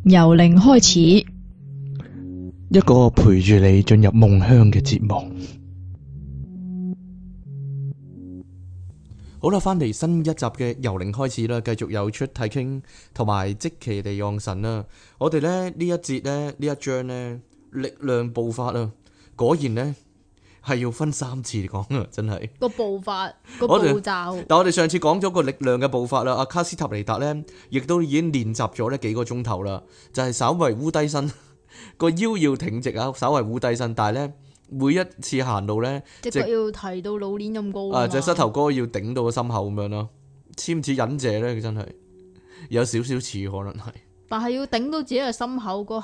由零開始， 一個陪住你進入夢鄉嘅節目。好啦，翻嚟新一集嘅由零開始啦，繼續有出體傾同埋即其地昂神啦。我哋咧呢一節咧呢一章咧力量步法啊，果然呢係要分3次講啊，真係個步伐個步驟。 但我哋上次講咗個力量嘅步法啦，阿卡斯塔尼達呢亦都已經練習咗呢幾個鐘頭啦，就係稍為烏低身，個腰要挺直啊，稍為烏低身，但係呢每一次行路呢， 隻腳要提到老鏈咁高啊嘛， 隻膝頭哥要頂到個心口咁樣咯，似唔似忍者呢？佢真係有少少似，可能係， 但係要頂到自己嘅心口嗰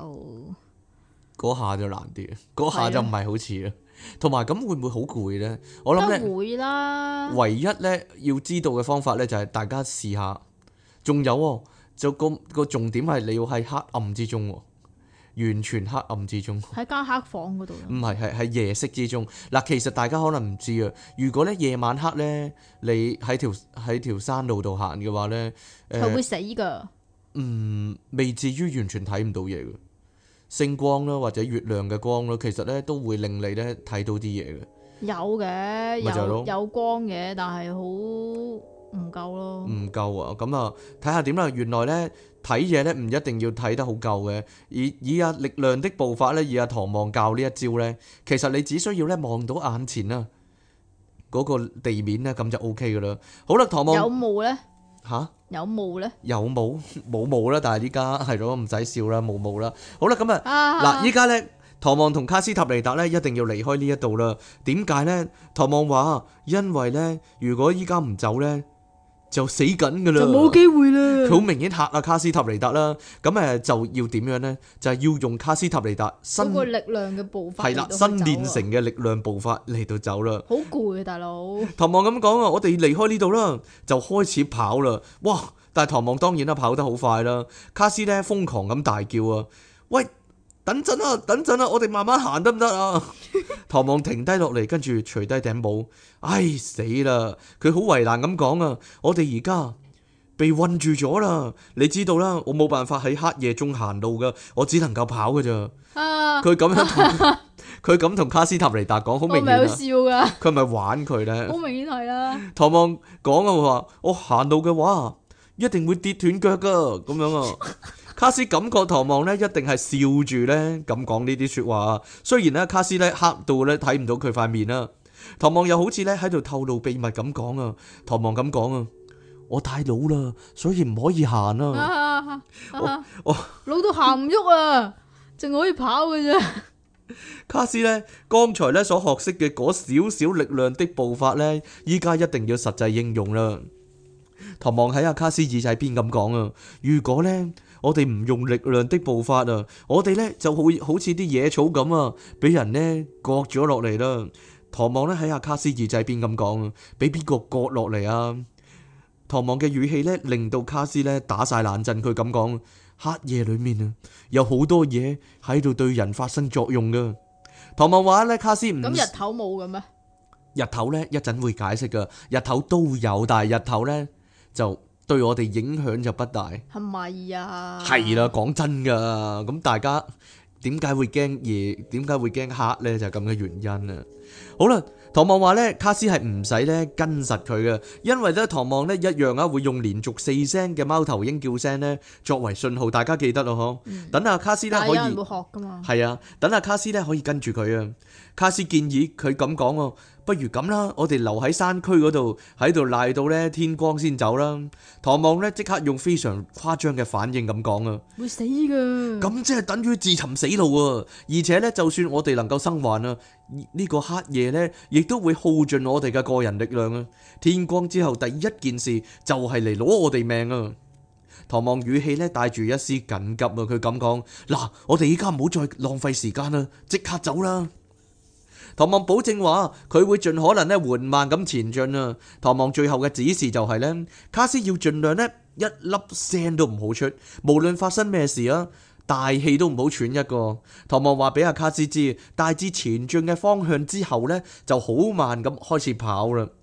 下就難啲，嗰下就唔係好似啦。同埋咁會唔會好攰呢？我諗咧會啦。 唯一咧要知道嘅方法咧就係大家試下。仲有喎，就個重點係你要喺黑暗之中喎，完全黑暗之中。 喺間黑房嗰度。 唔係，係夜色之中。嗱，其實大家可能唔知啊。如果咧夜晚黑咧，你喺條山路度行嘅話咧， 係會死㗎。 未至於完全睇唔到嘢嘅。星光啦，或者月亮嘅光啦，其實咧都會令你咧睇到啲嘢嘅。 有嘅，有光嘅，但係好唔夠咯。 唔夠啊！咁啊，睇下點啦。原來咧睇嘢咧唔一定要睇得好夠嘅。以力量的步伐咧，以唐望教呢一招咧，其實你只需要咧望到眼前啊嗰個地面咧，咁就 O K 噶啦。好啦，唐望有霧咧？ 吓？ 有霧咧？ 有冇霧啦，但係依家係咯，唔使笑啦，冇霧啦。好啦，咁嗱，依家咧，唐望同卡斯塔尼達咧一定要離開呢一度啦。點解咧？唐望話，因為咧，如果依家唔走咧，就死緊噶啦， 就冇機會啦。 佢好明顯嚇啊卡斯塔尼達啦。咁就要點樣咧？就係要用卡斯塔尼達嗰個力量嘅步伐， 係啦，新練成嘅力量步伐嚟到走啦。 好攰啊，大佬。 唐望咁講啊，我哋離開呢度啦，就開始跑啦。哇！但係唐望當然啦，跑得好快啦。卡斯咧瘋狂咁大叫啊！喂，等陣啊，我哋慢慢行得唔得啊？唐望停低落嚟，跟住除低頂帽。唉，死啦！佢好為難咁講啊，我哋而家被困住咗啦。你知道啦，我冇辦法喺黑夜中行路噶，我只能夠跑噶咋。佢咁樣佢咁同卡斯塔尼達講，好明顯啊。 我咪好笑噶。 佢咪玩佢咧？ 好明顯係啦。 唐望講啊，話我行路嘅話，一定會跌斷腳噶，咁樣啊。卡斯感覺唐望咧一定係笑住咧咁講呢啲說話。雖然咧卡斯咧黑到咧睇唔到佢塊面啦，唐望又好似咧喺度透露秘密咁講啊。唐望咁講啊，我太老啦，所以唔可以行啊。我老到行唔喐啊，淨可以跑嘅啫。 卡斯咧剛才咧所學識嘅嗰少少力量的步伐咧，依家一定要實際應用啦。唐望喺阿卡斯耳仔邊咁講啊，如果咧我哋唔用力量的步伐啊，我哋咧就會好似啲野草咁啊，俾人咧割咗落嚟啦。唐望咧喺阿卡斯耳仔邊咁講啊，俾邊個割落嚟啊？唐望嘅語氣咧令到卡斯咧打晒冷震，佢咁講，黑夜裏面啊有好多嘢喺度對人發生作用噶。唐望話咧，卡斯唔咁日頭冇嘅咩？ 日頭咧一陣會解釋噶，日頭都有，但係日頭咧就對我哋影響就不大。 係咪啊？ 係啦，講真噶，咁大家點解會驚夜？點解會驚黑咧？就係咁嘅原因啊。好啦，唐望話咧，卡斯係唔使咧跟實佢嘅，因為咧唐望咧一樣啊會用連續4聲嘅貓頭鷹叫聲咧作為信號，大家記得咯嗬。等阿卡斯咧可以， 但係有人會學噶嘛？ 係啊，等阿卡斯咧可以跟住佢啊。卡斯建議佢咁講喎，不如咁啦，我哋留喺山區嗰度，喺度賴到咧天光先走啦。唐望咧即刻用非常誇張嘅反應咁講啊， 會死噶。 咁即係等於自尋死路啊！而且咧，就算我哋能夠生還啊，呢個黑夜咧，亦都會耗盡我哋嘅個人力量啊！天光之後第一件事就係嚟攞我哋命啊！唐望語氣咧帶住一絲緊急啊，佢咁講：嗱，我哋依家唔好再浪費時間啦，即刻走啦！唐望保證話佢會盡可能咧緩慢咁前進啊。唐望最後嘅指示就係咧，卡斯要盡量咧一粒聲都唔好出，無論發生咩事啊，大氣都唔好喘一個。唐望話俾阿卡斯知大致前進嘅方向之後咧，就好慢咁開始跑啦。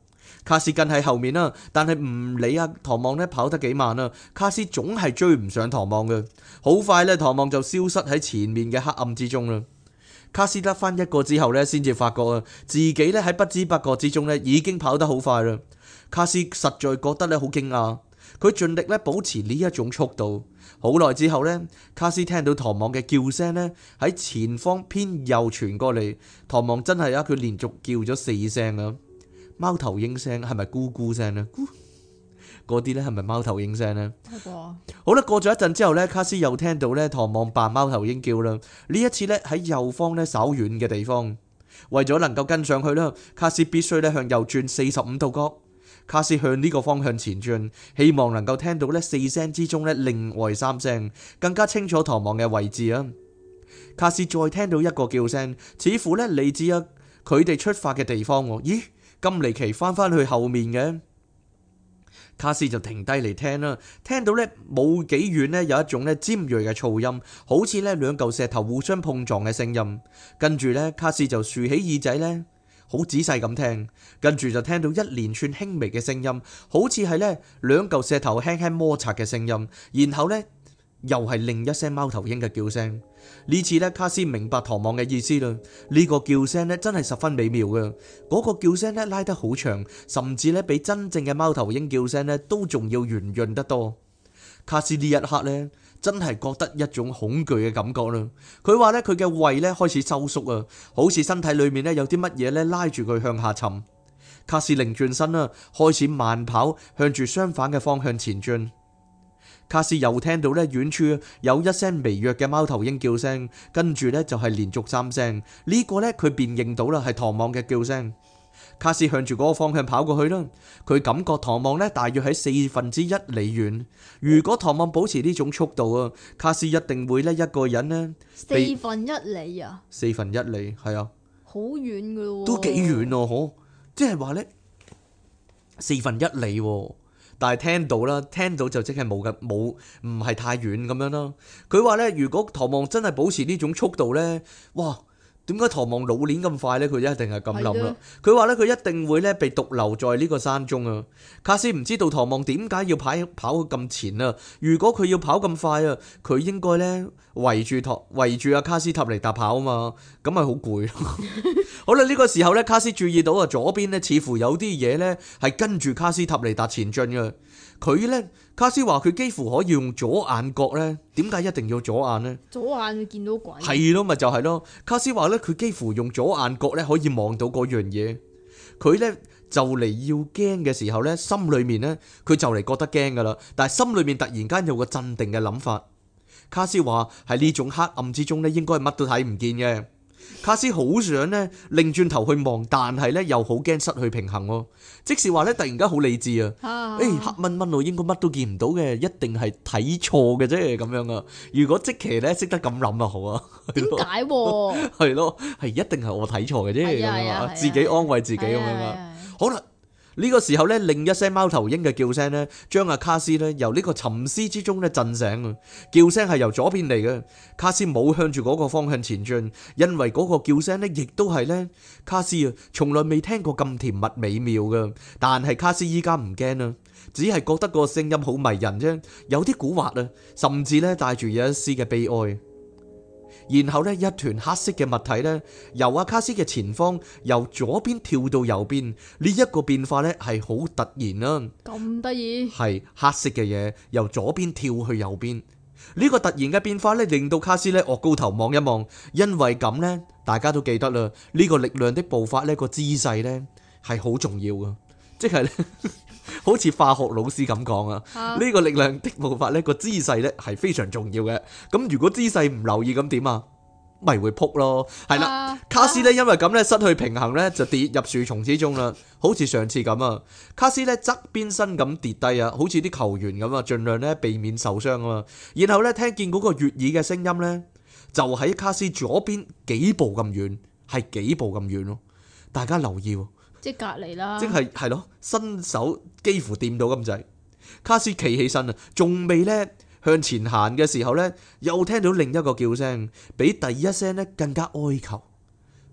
卡斯跟喺後面啦，但係唔理啊唐望呢跑得幾慢啊，卡斯總係追唔上唐望嘅。好快呢，唐望就消失喺前面嘅黑暗之中啦。卡斯得翻一個之後呢，先至發覺啊，自己呢喺不知不覺之中呢已經跑得好快啦。卡斯實在覺得呢好驚訝，佢盡力呢保持呢一種速度。好耐之後呢，卡斯聽到唐望嘅叫聲呢喺前方偏右傳過嚟。唐望真係啊，佢連續叫咗4聲啊！貓頭鷹聲係咪咕咕聲呢？嗰啲呢係咪貓頭鷹聲呢？好啦，過咗一陣之後呢，卡斯又聽到呢唐望扮貓頭鷹叫啦。呢一次呢喺右方呢稍遠嘅地方，為咗能夠跟上去啦，卡斯必須呢向右轉45度角。卡斯向呢個方向前進，希望能夠聽到呢4聲之中呢另外3聲，更加清楚唐望嘅位置啊！卡斯再聽到一個叫聲，似乎呢嚟自啊佢哋出發嘅地方。咦？咁離奇翻返去後面嘅，卡斯就停低嚟聽啦。聽到呢冇幾遠呢有一種呢尖銳嘅噪音，好似呢兩嚿石頭互相碰撞嘅聲音。跟住呢，卡斯就豎起耳仔呢，好仔細咁聽。跟住就聽到一連串輕微嘅聲音，好似係呢兩嚿石頭輕輕摩擦嘅聲音。然後呢，又係另一聲貓頭鷹嘅叫聲。呢次呢，卡斯明白唐望嘅意思啦。呢個叫聲呢，真係十分美妙嘅。嗰個叫聲呢，拉得好長，甚至呢，比真正嘅貓頭鷹叫聲呢，都仲要圓潤得多。卡斯呢一刻呢，真係覺得一種恐懼嘅感覺啦。佢話呢，佢嘅胃呢開始收縮啊，好似身體裏面呢有啲乜嘢呢拉住佢向下沉。卡斯擰轉身啦，開始慢跑，向住相反嘅方向前進。卡斯又聽到呢遠處有一聲微弱嘅貓頭鷹叫聲，跟住呢就係連續3聲。呢個呢，佢辨認到啦，係唐望嘅叫聲。卡斯向住嗰個方向跑過去啦。佢感覺唐望呢大約喺1/4里遠。如果唐望保持呢種速度啊，卡斯一定會呢一個人呢 1/4里啊 ，1/4里係啊， 好遠噶咯， 都幾遠哦，嗬，即係話呢1/4里喎。但係聽到啦，聽到就即係冇唔係太遠咁樣啦。佢話呢，如果唐望真係保持呢種速度呢，哇！點解唐望老年咁快呢？佢一定係咁諗啦。佢話呢，佢一定會呢被獨留在呢個山中啊。卡斯唔知道唐望點解要跑咁前啊。如果佢要跑咁快啊，佢應該呢圍住阿卡斯塔尼達跑啊嘛，咁咪好攰。好啦，呢個時候呢，卡斯注意到啊，左邊呢似乎有啲嘢呢係跟住卡斯塔尼達前進嘅。佢呢，卡斯話佢幾乎可以用左眼角呢。點解一定要左眼呢？左眼會見到鬼。 係咯，咪就係咯。卡斯話呢，佢幾乎用左眼角呢可以望到嗰樣嘢。佢呢就嚟要驚嘅時候呢，心裏面呢，佢就嚟覺得驚噶啦，但係心裏面突然間有個鎮定嘅諗法。卡斯話喺呢種黑暗之中呢，應該係乜都睇唔見嘅。卡斯好想呢擰轉頭去望，但係呢又好驚失去平衡。即是話呢，突然間好理智啊！黑蚊蚊我應該乜都見唔到嘅，一定係睇錯嘅啫咁樣啊！如果即期呢識得咁諗啊好啊， 點解？ 係咯，係一定係我睇錯嘅啫咁樣啊，自己安慰自己咁樣啊。好啦。呢個時候呢，另一聲貓頭鷹嘅叫聲呢，將阿卡斯呢由呢個沉思之中呢震醒啊！叫聲係由左邊嚟嘅，卡斯冇向住嗰個方向前進，因為嗰個叫聲呢亦都係呢卡斯啊，從來未聽過咁甜蜜美妙嘅。但係卡斯依家唔驚啦，只係覺得個聲音好迷人啫，有啲蠱惑啊，甚至呢帶住有一絲嘅悲哀。然後呢，一團黑色嘅物體呢，由阿卡斯嘅前方由左邊跳到右邊，呢一個變化呢係好突然啊！ 咁得意？係黑色嘅嘢由左邊跳去右邊，呢個突然嘅變化呢，令到卡斯呢岳高頭望一望，因為咁呢，大家都記得啦，呢個力量的步伐呢個姿勢呢係好重要噶，即係呢。好似化學老師咁講啊，呢個力量的步伐呢個姿勢呢係非常重要嘅。咁如果姿勢唔留意咁點啊？咪會撲咯。係啦，卡斯呢因為咁呢失去平衡呢就跌入樹叢之中啦。好似上次咁啊，卡斯呢側邊身咁跌低啊，好似啲球員咁啊，盡量呢避免受傷啊嘛。然後呢聽見嗰個悅耳嘅聲音呢，就喺卡斯左邊幾步咁遠，係幾步咁遠咯。大家留意喎。 即係隔離啦， 即係咯，伸手幾乎掂到咁滯。卡斯企起身啊，仲未呢向前行嘅時候呢，又聽到另一個叫聲，比第一聲呢更加哀求。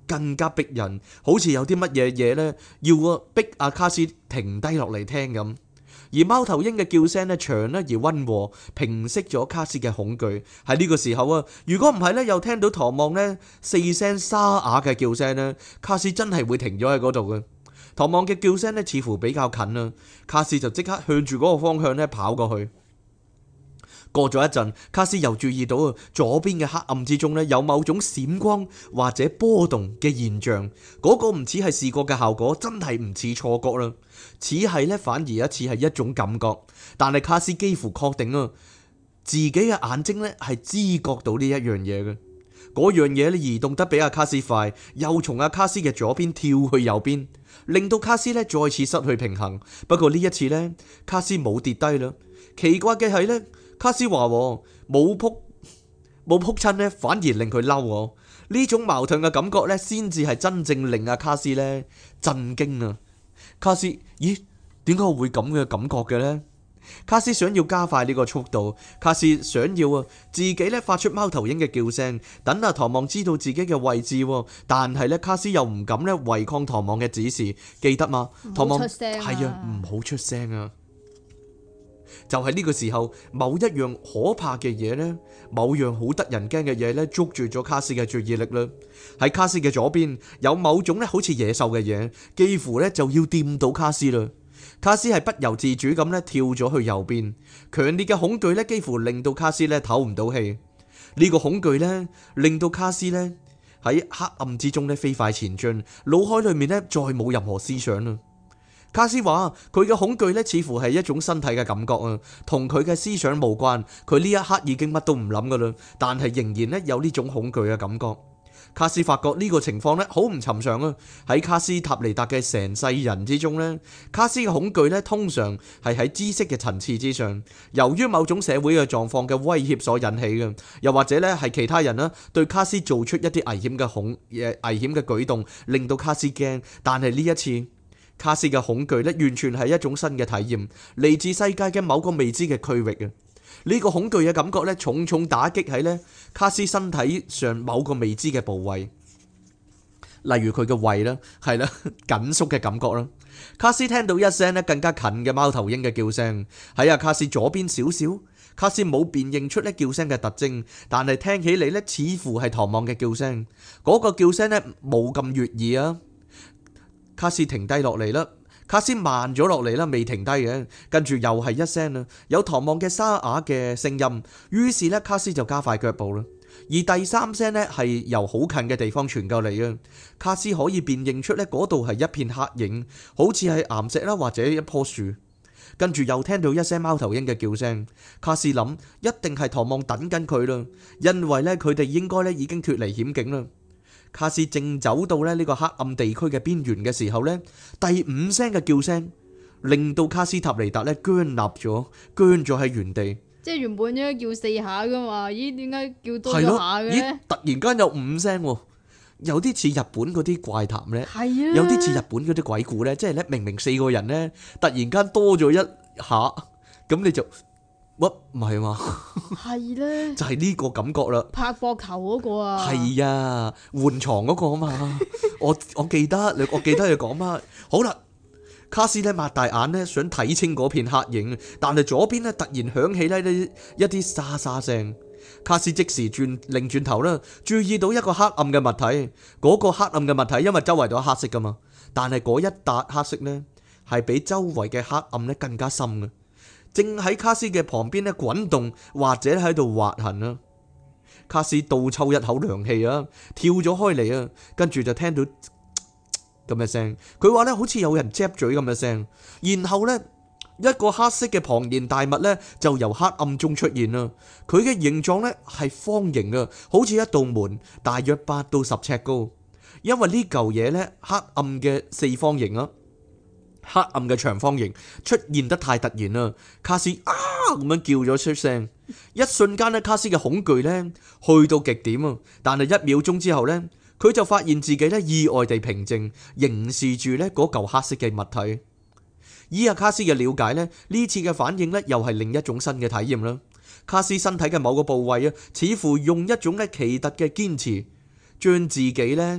更加逼人，好似有啲乜嘢嘢呢，要逼阿卡斯停低落嚟聽咁。而貓頭鷹嘅叫聲呢，長呢而溫和，平息咗卡斯嘅恐懼。喺呢個時候啊，如果唔係呢，又聽到唐望呢4聲沙啞嘅叫聲呢，卡斯真係會停咗喺嗰度嘅。唐望嘅叫聲呢，似乎比較近啦，卡斯就即刻向住嗰個方向呢跑過去。過咗一陣，卡斯又注意到左邊嘅黑暗之中呢，有某種閃光或者波動嘅現象。嗰個唔似係視覺嘅效果，真係唔似錯覺啦，似係呢，反而一似係一種感覺。但係卡斯幾乎確定自己嘅眼睛呢係知覺到呢一樣嘢嘅。嗰樣嘢呢移動得比阿卡斯快，又從阿卡斯嘅左邊跳去右邊，令到卡斯呢再次失去平衡。不過呢一次呢，卡斯冇跌低啦。奇怪嘅係呢，卡斯話冇撲親呢，反而令佢嬲。呢種矛盾嘅感覺呢，先至係真正令阿卡斯呢震驚啊！卡斯，咦？點解我會咁嘅感覺嘅呢？卡斯想要加快呢個速度，卡斯想要自己呢發出貓頭鷹嘅叫聲，等阿唐望知道自己嘅位置。但係呢，卡斯又唔敢呢違抗唐望嘅指示，記得嘛？唐望係啊，唔好出聲啊！就喺呢個時候，某一樣可怕嘅嘢呢，某樣好得人驚嘅嘢呢，捉住咗卡斯嘅注意力啦。喺卡斯嘅左邊有某種呢好似野獸嘅嘢，幾乎呢就要掂到卡斯啦。卡斯係不由自主咁呢跳咗去右邊，強烈嘅恐懼呢幾乎令到卡斯呢唞唔到氣。呢個恐懼呢令到卡斯呢喺黑暗之中呢飛快前進，腦海裏面呢再冇任何思想啦。卡斯話佢嘅恐懼呢似乎係一種身體嘅感覺啊，同佢嘅思想無關。佢呢一刻已經乜都唔諗噶啦，但係仍然呢有呢種恐懼嘅感覺。卡斯發覺呢個情況呢好唔尋常啊！喺卡斯塔尼達嘅成世人之中呢，卡斯嘅恐懼呢通常係喺知識嘅層次之上，由於某種社會嘅狀況嘅威脅所引起嘅，又或者呢係其他人對卡斯做出一啲危險嘅舉動，令到卡斯驚。但係呢一次，卡斯嘅恐懼呢完全係一種新嘅體驗，嚟自世界嘅某個未知嘅區域啊！呢個恐懼嘅感覺呢，重重打擊喺呢卡斯身體上某個未知嘅部位，例如佢嘅胃啦，係啦，緊縮嘅感覺啦。卡斯聽到一聲呢更加近嘅貓頭鷹嘅叫聲，喺阿卡斯左邊少少。卡斯冇辨認出呢叫聲嘅特徵，但係聽起嚟呢似乎係唐望嘅叫聲。嗰個叫聲呢冇咁悅耳啊！卡斯停低落嚟啦。卡斯慢咗落嚟啦，未停低嘅，跟住又係一聲啦，有唐望嘅沙啞嘅聲音，於是呢，卡斯就加快腳步啦。而第三聲呢，係由好近嘅地方傳過嚟嘅，卡斯可以辨認出呢嗰度係一片黑影，好似係岩石啦或者一棵樹。跟住又聽到一聲貓頭鷹嘅叫聲，卡斯諗一定係唐望等緊佢啦，因為呢，佢哋應該呢已經脫離險境啦。卡斯正走到呢個黑暗地區嘅邊緣嘅時候呢，第5聲嘅叫聲令到卡斯塔尼達呢僵立咗，僵咗喺原地。 即係原本應該叫4下噶嘛，咦？點解叫多咗下嘅？ 咦？突然間有5聲，有啲似日本嗰啲怪談呢， 係啊， 有啲似日本嗰啲鬼故呢，即係呢明明4個人呢，突然間多咗一下，咁你就。乜唔係嘛？ 係咧， 就係呢個感覺啦。 拍膊頭嗰個啊， 係啊，換床嗰個啊嘛。我記得你講乜？好啦，卡斯呢擘大眼呢，想睇清嗰片黑影，但係左邊呢突然響起呢一啲沙沙聲。卡斯即時擰轉頭啦，注意到一個黑暗嘅物體。嗰個黑暗嘅物體因為周圍都係黑色噶嘛，但係嗰一笪黑色呢係比周圍嘅黑暗呢更加深嘅。正喺卡斯嘅旁邊咧滾動，或者喺度滑行啊！卡斯倒抽一口涼氣啊，跳咗開嚟啊，跟住就聽到咁嘅聲。佢話咧好似有人嘖嘴咁嘅聲，然後呢，一個黑色嘅龐然大物呢就由黑暗中出現啦。佢嘅形狀呢係方形啊，好似一道門，大約8到10尺高。因為呢嚿嘢呢，黑暗嘅四方形啊。黑暗嘅長方形出現得太突然啦，卡斯啊咁樣叫咗出聲，一瞬間咧，卡斯嘅恐懼咧去到極點啊！但係1秒鐘之後咧，佢就發現自己咧意外地平靜，凝視住咧嗰嚿黑色嘅物體。依阿卡斯嘅了解咧，呢次嘅反應咧又係另一種新嘅體驗啦。卡斯身體嘅某個部位啊，似乎用一種咧奇特嘅堅持，將自己咧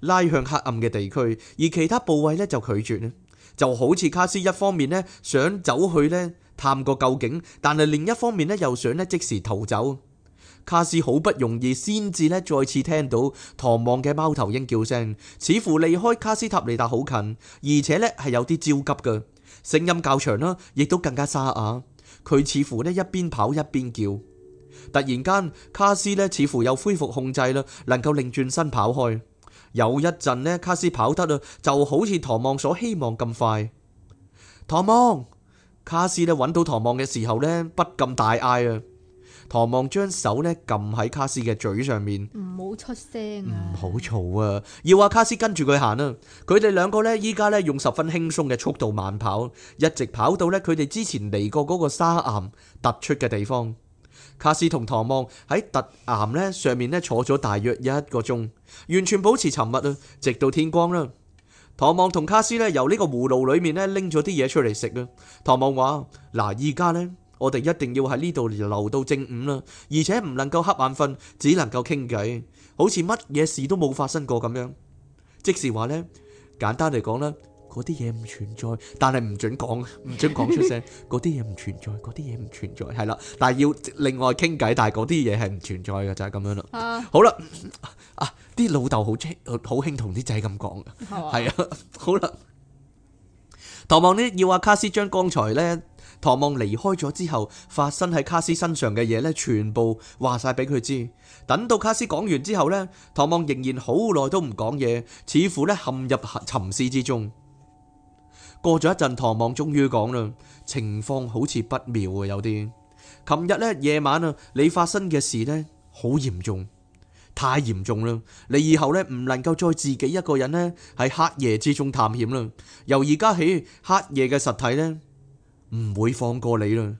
拉向黑暗嘅地區，而其他部位咧就拒絕咧。就好似卡斯一方面咧想走去咧探個究竟，但係另一方面咧又想咧即時逃走。卡斯好不容易先至咧再次聽到唐望嘅貓頭鷹叫聲，似乎離開卡斯塔尼達好近，而且咧係有啲焦急嘅，聲音較長啦，亦都更加沙啞。佢似乎咧一邊跑一邊叫。突然間，卡斯咧似乎又恢復控制啦，能夠擰轉身跑開。有一陣咧，卡斯跑得啊，就好似唐望所希望咁快。唐望，卡斯咧揾到唐望嘅時候咧，不禁大嗌啊！唐望將手咧撳喺卡斯嘅嘴上面， 唔好出聲啊！ 唔好嘈啊！要話卡斯跟住佢行啊！佢哋兩個咧依家咧用十分輕鬆嘅速度慢跑，一直跑到咧佢哋之前嚟過嗰個沙岩突出嘅地方。卡斯同唐望喺突岩咧上面咧坐咗大約1個鐘，完全保持沉默啊，直到天光啦。唐望同卡斯咧由呢個葫蘆裏面咧拎咗啲嘢出嚟食啊。唐望話：嗱，依家呢，我哋一定要喺呢度留到正午啦，而且唔能夠瞌眼瞓，只能夠傾偈，好似乜嘢事都冇發生過咁樣。即是話呢，簡單嚟講啦，嗰啲嘢唔存在，但係唔准講，唔准講出聲。嗰啲嘢唔存在，嗰啲嘢唔存在，係啦。但係要另外傾偈，但係嗰啲嘢係唔存在嘅，就係咁樣啦。好啦，啲老豆好興同啲仔咁講嘅，係啊。好啦，唐望呢要阿卡斯將剛才呢，唐望離開咗之後發生喺卡斯身上嘅嘢呢，全部話晒俾佢知。等到卡斯講完之後呢，唐望仍然好耐都唔講嘢，似乎呢陷入沉思之中。過咗一陣，唐望終於講啦，情況好似不妙啊，有啲。琴日呢夜晚啊，你發生嘅事呢，好嚴重，太嚴重啦！你以後呢唔能夠再自己一個人呢喺黑夜之中探險啦。由而家起，黑夜嘅實體呢唔會放過你啦。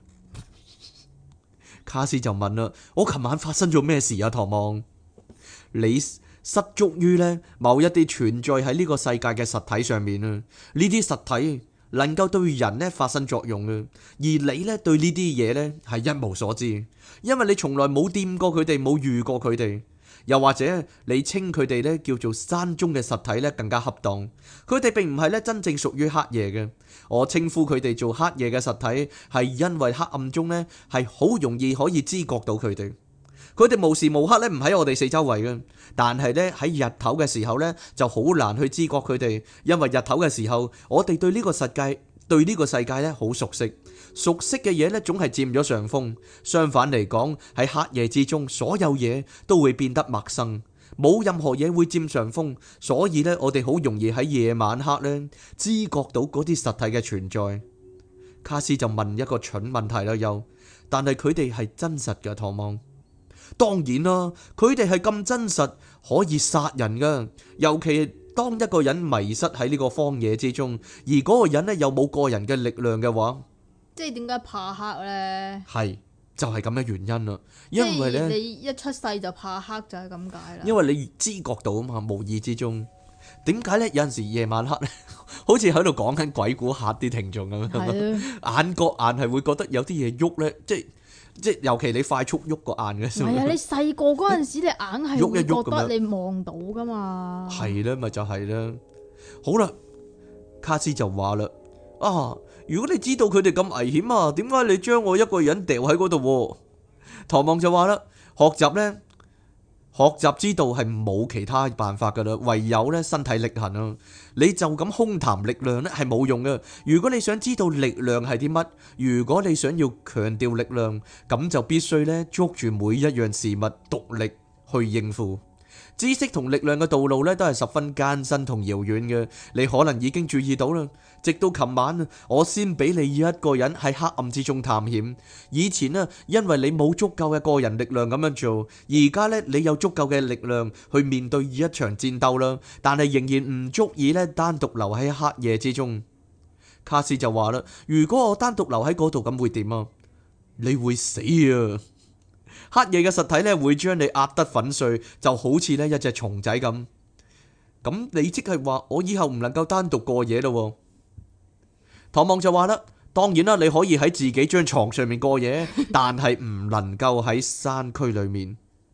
卡斯就問啦：我琴晚發生咗咩事啊？唐望，你失足於呢某一啲存在喺呢個世界嘅實體上面啊，呢啲實體能夠對人呢發生作用啊，而你呢對呢啲嘢呢係一無所知，因為你從來冇掂過佢哋，冇遇過佢哋，又或者你稱佢哋呢叫做山中嘅實體呢更加恰當，佢哋並唔係呢真正屬於黑夜嘅，我稱呼佢哋做黑夜嘅實體係因為黑暗中呢係好容易可以知覺到佢哋。佢哋無時無刻咧唔喺我哋四周圍嘅，但係咧喺日頭嘅時候咧就好難去知覺佢哋，因為日頭嘅時候我哋對呢個世界咧好熟悉，熟悉嘅嘢咧總係佔咗上風。相反嚟講，喺黑夜之中，所有嘢都會變得陌生，冇任何嘢會佔上風，所以咧我哋好容易喺夜晚黑咧知覺到嗰啲實體嘅存在。卡斯就問一個蠢問題啦，但係佢哋係真實嘅，唐望。當然啦，佢哋係咁真實，可以殺人噶。尤其當一個人迷失喺呢個荒野之中，而嗰個人呢又冇個人嘅力量嘅話， 即係點解怕黑呢？ 係就係咁嘅原因啦。因為呢， 你一出世就怕黑就係咁解啦。 因為你知覺到啊嘛，無意之中。點解呢？有陣時夜晚黑呢，好似喺度講緊鬼故嚇啲聽眾咁樣，眼角硬係會覺得有啲嘢喐呢，即係尤其你快速喐個眼嘅時候， 係啊！你細個嗰陣時，你硬係會覺得你望到噶嘛？係啦，咪就係啦。好啦，卡斯就話啦：啊，如果你知道佢哋咁危險啊，點解你將我一個人掉喺嗰度？唐望就話啦：學習之道係冇其他辦法噶啦，唯有咧身體力行啊！你就咁空談力量咧係冇用嘅。如果你想知道力量係啲乜，如果你想要強調力量，咁就必須咧捉住每一樣事物獨力去應付。知識同力量嘅道路咧都係十分艱辛同遙遠嘅，你可能已經注意到啦。直到琴晚，我先俾你一個人喺黑暗之中探險。以前呢，因為你冇足夠嘅個人力量咁樣做，而家呢，你有足夠嘅力量去面對一場戰鬥啦。但係仍然唔足以呢單獨留喺黑夜之中。卡斯就話啦：如果我單獨留喺嗰度，咁會點啊？你會死啊！黑夜嘅實體呢會將你壓得粉碎，就好似呢一隻蟲仔咁。咁你即係話我以後唔能夠單獨過夜咯？唐望就話啦：當然啦，你可以喺自己張床上面過夜，但係唔能夠喺山區裏面。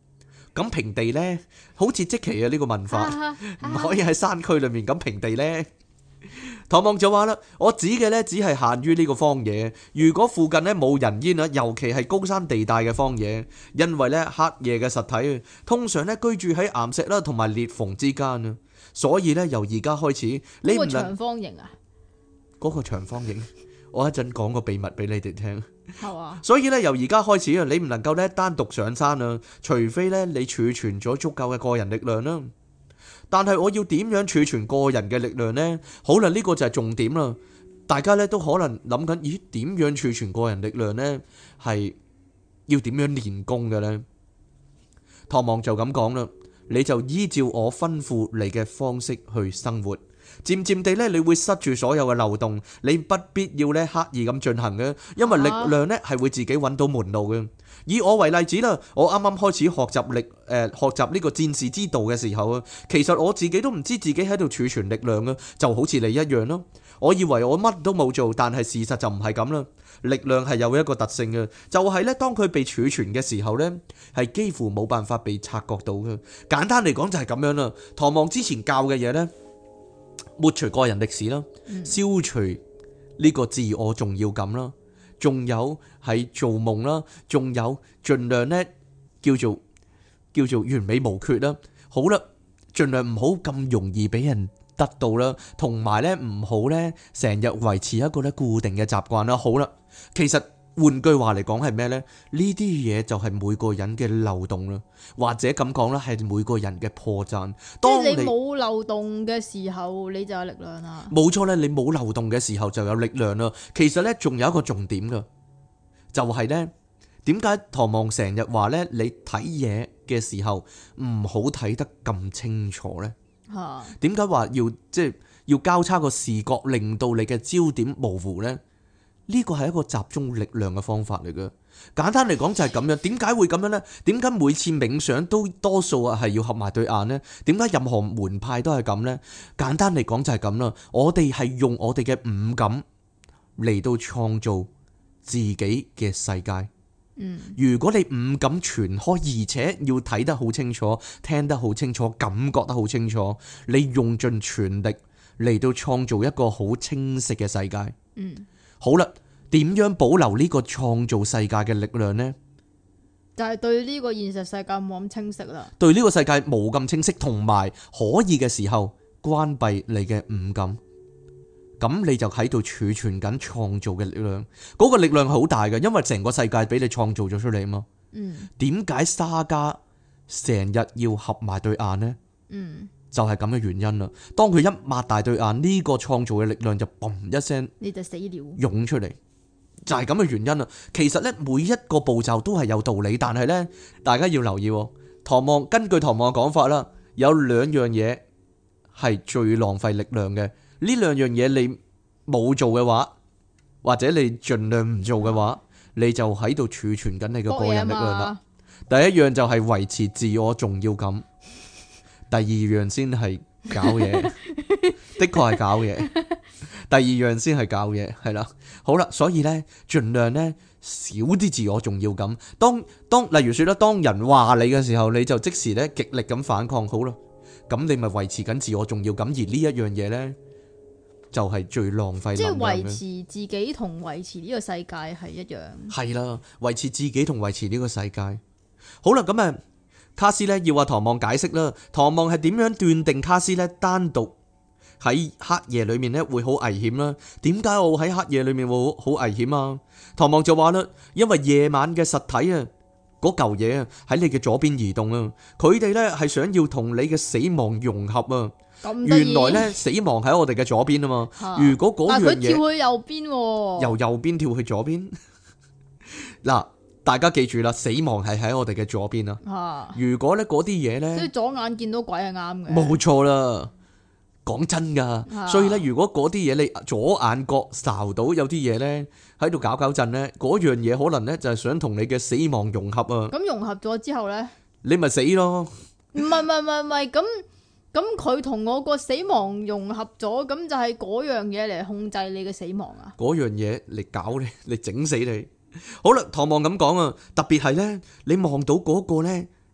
咁平地呢，好似即期啊呢個問法，唔可以喺山區裏面咁平地呢。唐望就話啦，我指嘅呢，只係限於呢個荒野，如果附近呢冇人煙啊，尤其係高山地帶嘅荒野，因為呢黑夜嘅實體通常呢居住喺岩石啦同埋裂縫之間啊，所以呢，由而家開始，你唔能長方形啊， 嗰個長方形，我一陣講個秘密俾你哋聽。 係啊， 所以咧，由而家開始啊，你唔能夠咧單獨上山啊，除非咧你儲存咗足夠嘅個人力量啦。但係我要點樣儲存個人嘅力量呢？好啦，呢個就係重點啦。大家咧都可能諗緊，咦，點樣儲存個人力量呢？係要點樣練功嘅呢？唐望就咁講啦，你就依照我吩咐你嘅方式去生活。漸漸地咧，你會塞住所有嘅漏洞，你不必要咧刻意咁進行嘅，因為力量咧係會自己揾到門路嘅。以我為例子啦，我啱啱開始學習呢個戰士之道嘅時候啊，其實我自己都唔知自己喺度儲存力量啊，就好似你一樣咯。我以為我乜都冇做，但係事實就唔係咁啦。力量係有一個特性嘅，就係咧當佢被儲存嘅時候咧，係幾乎冇辦法被察覺到嘅。簡單嚟講就係咁樣啦。唐望之前教嘅嘢咧，抹除個人歷史啦，消除呢個自我重要感啦，仲有係做夢啦，仲有盡量咧叫做完美無缺啦。好啦，盡量唔好咁容易俾人得到啦，同埋咧唔好咧成日維持一個咧固定嘅習慣啦。好啦，其實換句話嚟講係咩呢？呢啲嘢就係每個人嘅漏洞啦，或者咁講啦，係每個人嘅破綻。當你冇漏洞嘅時候，你就有力量啦。 冇錯咧，你冇漏洞嘅時候就有力量啦。其實呢，仲有一個重點噶，就係呢，點解唐望成日話呢？你睇嘢嘅時候唔好睇得咁清楚呢？點解話要交叉個視覺，令到你嘅焦點模糊呢？呢個係一個集中力量嘅方法嚟嘅。簡單嚟講就係咁樣。點解會咁樣呢？點解每次冥想都多數係要合埋對眼呢？點解任何門派都係咁呢？簡單嚟講就係咁啦。我哋係用我哋嘅五感嚟到創造自己嘅世界。如果你五感全開，而且要睇得好清楚、聽得好清楚、感覺得好清楚，你用盡全力嚟到創造一個好清晰嘅世界。好啦，點樣保留呢個創造世界嘅力量呢？ 就係對呢個現實世界冇咁清晰啦。 對呢個世界冇咁清晰，同埋可以嘅時候關閉你嘅五感，咁你就喺度儲存緊創造嘅力量。嗰個力量係好大嘅，因為成個世界俾你創造咗出嚟啊嘛。點解沙加成日要合埋對眼呢？就係咁嘅原因啦。當佢一擘大對眼，呢個創造嘅力量就嘣一聲， 你就死了， 湧出嚟，就係咁嘅原因啦。其實呢，每一個步驟都係有道理，但係呢，大家要留意，根據唐望嘅講法啦，有兩樣嘢係最浪費力量嘅。呢兩樣嘢你冇做嘅話，或者你盡量唔做嘅話，你就喺度儲存緊你嘅個人力量啦。第一樣就係維持自我重要感。第二樣先係搞嘢，的確係搞嘢。第二樣先係搞嘢，係啦。好啦，所以呢，盡量呢少啲自我重要感。當例如說啦，當人話你嘅時候，你就即時呢極力咁反抗。好啦，咁你咪維持緊自我重要感，而呢一樣嘢呢，就係最浪費能量嘅。即係維持自己同維持呢個世界係一樣。 係啦，維持自己同維持呢個世界。好啦，咁啊。卡斯咧要話唐望解釋啦，唐望係點樣斷定卡斯咧單獨喺黑夜裏面咧會好危險啦？點解我喺黑夜裏面會好危險啊？唐望就話啦，因為夜晚嘅實體啊，嗰嚿嘢啊喺你嘅左邊移動啊，佢哋咧係想要同你嘅死亡融合啊。原來咧死亡喺我哋嘅左邊啊嘛。如果嗰樣嘢，但係佢跳去右邊， 由右邊跳去左邊嗱。大家記住啦，死亡係喺我哋嘅左邊啊！如果咧嗰啲嘢咧， 所以左眼見到鬼係啱嘅， 冇錯啦。講真噶，所以咧，如果嗰啲嘢你左眼角睄到有啲嘢咧喺度搞震咧，嗰樣嘢可能咧就係想同你嘅死亡融合啊！ 咁融合咗之後咧， 你咪死咯！ 唔係，咁佢同我個死亡融合咗，咁就係嗰樣嘢嚟控制你嘅死亡啊！ 嗰樣嘢嚟搞你，嚟整死你。好啦，唐望咁講啊，特別係咧，你望到嗰個咧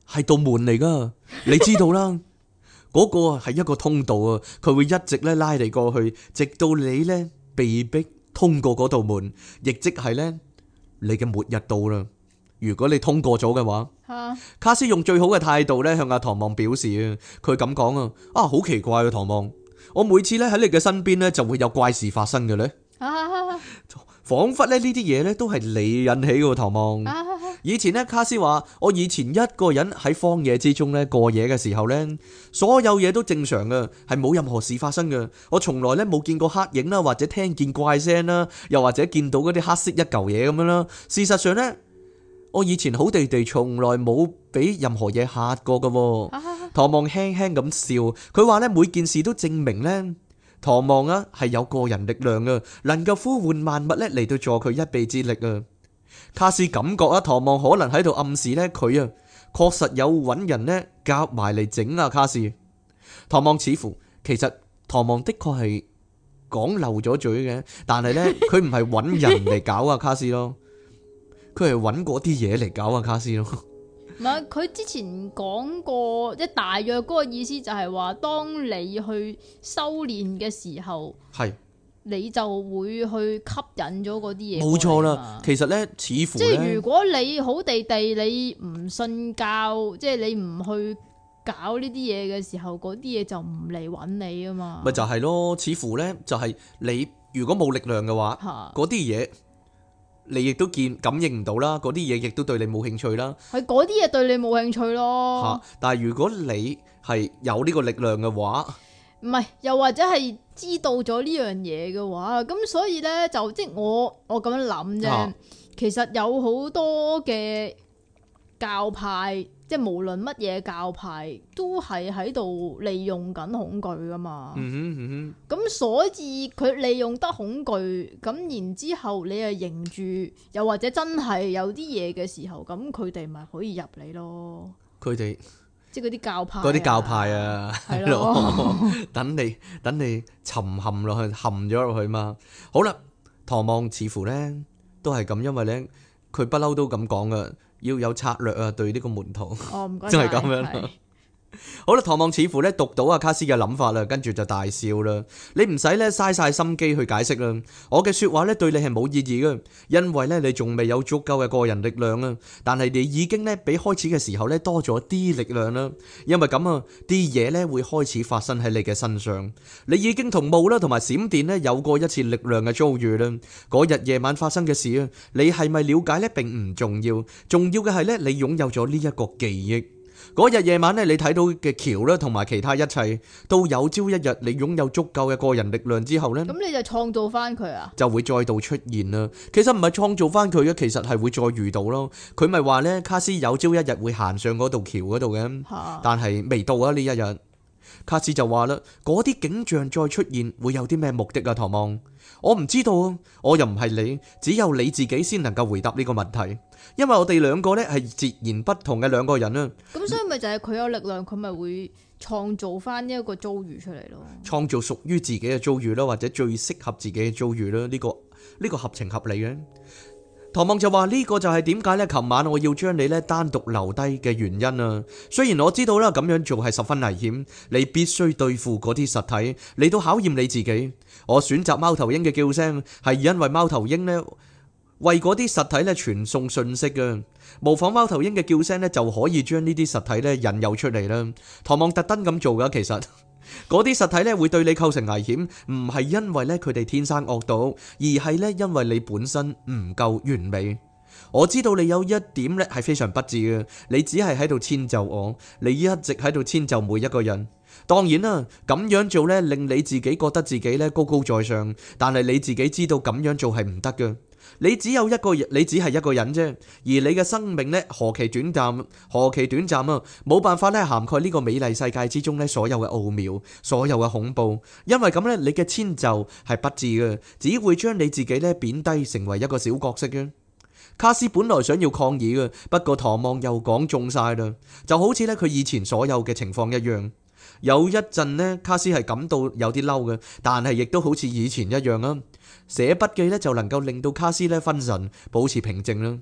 係道門嚟噶，你知道啦。嗰個係一個通道啊，佢會一直咧拉你過去，直到你咧被逼通過嗰道門，亦即係咧你嘅末日到啦。如果你通過咗嘅話，卡斯用最好嘅態度咧向阿唐望表示啊，佢咁講啊，好奇怪啊，唐望，我每次咧喺你嘅身邊咧就會有怪事發生嘅咧，仿佛咧呢啲嘢咧都係你引起嘅，唐望。以前咧卡斯話，我以前一個人喺荒野之中咧過夜嘅時候咧，所有嘢都正常嘅，係冇任何事發生嘅。我從來咧冇見過黑影啦，或者聽見怪聲啦，又或者見到嗰啲黑色一嚿嘢咁樣啦。事實上咧，我以前好地地從來冇俾任何嘢嚇過嘅。唐望輕輕咁笑，佢話咧每件事都證明咧，唐望啊係有個人力量嘅，能夠呼喚萬物咧嚟到助佢一臂之力啊。卡斯感覺啊，唐望可能喺度暗示咧，佢啊確實有揾人咧夾埋嚟整啊卡斯。唐望似乎其實唐望的確係講漏咗嘴嘅，但係咧佢唔係揾人嚟搞啊卡斯咯，佢係揾嗰啲嘢嚟搞啊卡斯咯。 唔係，佢之前講過，即大約嗰個意思就係話，當你去修煉嘅時候，係。你就會去吸引咗嗰啲嘢。冇錯啦， 其實咧，似乎即係如果你好地地你唔信教，即係你唔去搞呢啲嘢嘅時候，嗰啲嘢就唔嚟揾你啊嘛。 咪就係咯，似乎咧就係你如果冇力量嘅話，嗰啲嘢你亦都感應唔到啦，嗰啲嘢亦都對你冇興趣啦。 係嗰啲嘢對你冇興趣咯。 但係如果你係有呢個力量嘅話， 唔係，又或者係知道咗呢樣嘢嘅話，咁所以咧就即係我咁樣諗啫。其實有好多嘅教派，即係無論乜嘢教派，都係喺度利用緊恐懼噶嘛。咁所以佢利用得恐懼，咁然之後你又認住，又或者真係有啲嘢嘅時候，咁佢哋咪可以入嚟咯。 佢哋。 即係嗰啲教派啊，係咯，等你沉陷落去，陷咗落去嘛。好啦，唐望似乎咧都係咁，因為咧佢不嬲都咁講噶，要有策略啊，對呢個門徒， 唔該， 真係咁樣。好啦，唐望似乎咧讀到阿卡斯嘅諗法啦，跟住就大笑啦。你唔使咧嘥晒心機去解釋啦，我嘅說話咧對你係冇意義嘅，因為咧你仲未有足夠嘅個人力量啊。但係你已經咧比開始嘅時候咧多咗啲力量啦。因為咁啊，啲嘢咧會開始發生喺你嘅身上。你已經同霧啦同埋閃電咧有過一次力量嘅遭遇啦。嗰日夜晚發生嘅事啊，你係咪了解咧並唔重要，重要嘅係咧你擁有咗呢一個記憶。嗰日夜晚咧，你睇到嘅橋咧，同埋其他一切，都有朝一日你擁有足夠嘅個人力量之後咧， 咁你就創造翻佢啊， 就會再度出現啦。其實唔係創造翻佢嘅，其實係會再遇到咯。佢咪話咧，卡斯有朝一日會行上嗰度橋嗰度嘅，但係未到啊呢一日。卡斯就話啦，嗰啲景象再出現會有啲咩目的啊？唐望，我唔知道啊，我又唔係你，只有你自己先能夠回答呢個問題。因為我哋兩個咧係截然不同嘅兩個人啊。咁所以咪就係佢有力量，佢咪會創造翻一個遭遇出嚟咯。 創造屬於自己嘅遭遇啦，或者最適合自己嘅遭遇啦。呢個合情合理嘅。唐望就話呢個就係點解咧？琴晚我要將你咧單獨留低嘅原因啊。雖然我知道啦，咁樣做係十分危險，你必須對付嗰啲實體嚟到考驗你自己。我選擇貓頭鷹嘅叫聲，係因為貓頭鷹呢為嗰啲實體咧傳送訊息嘅，模仿貓頭鷹嘅叫聲咧就可以將呢啲實體咧引誘出嚟啦。唐望特登咁做噶，其實嗰啲實體咧會對你構成危險，唔係因為咧佢哋天生惡毒，而係咧因為你本身唔夠完美。我知道你有一點咧係非常不智嘅，你只係喺度遷就我，你一直喺度遷就每一個人。當然啦，咁樣做咧令你自己覺得自己咧高高在上，但係你自己知道咁樣做係唔得嘅。你只有一個人，你只係一個人啫，而你嘅生命咧何其短暫啊！冇辦法咧涵蓋呢個美麗世界之中咧所有嘅奧妙，所有嘅恐怖。因為咁咧，你嘅遷就係不智嘅，只會將你自己咧貶低成為一個小角色嘅。卡斯本來想要抗議嘅，不過唐望又講中晒啦，就好似咧佢以前所有嘅情況一樣。有一陣呢，卡斯係感到有啲嬲嘅，但係亦都好似以前一樣啊。寫筆記咧就能夠令到卡斯咧分神，保持平靜啦。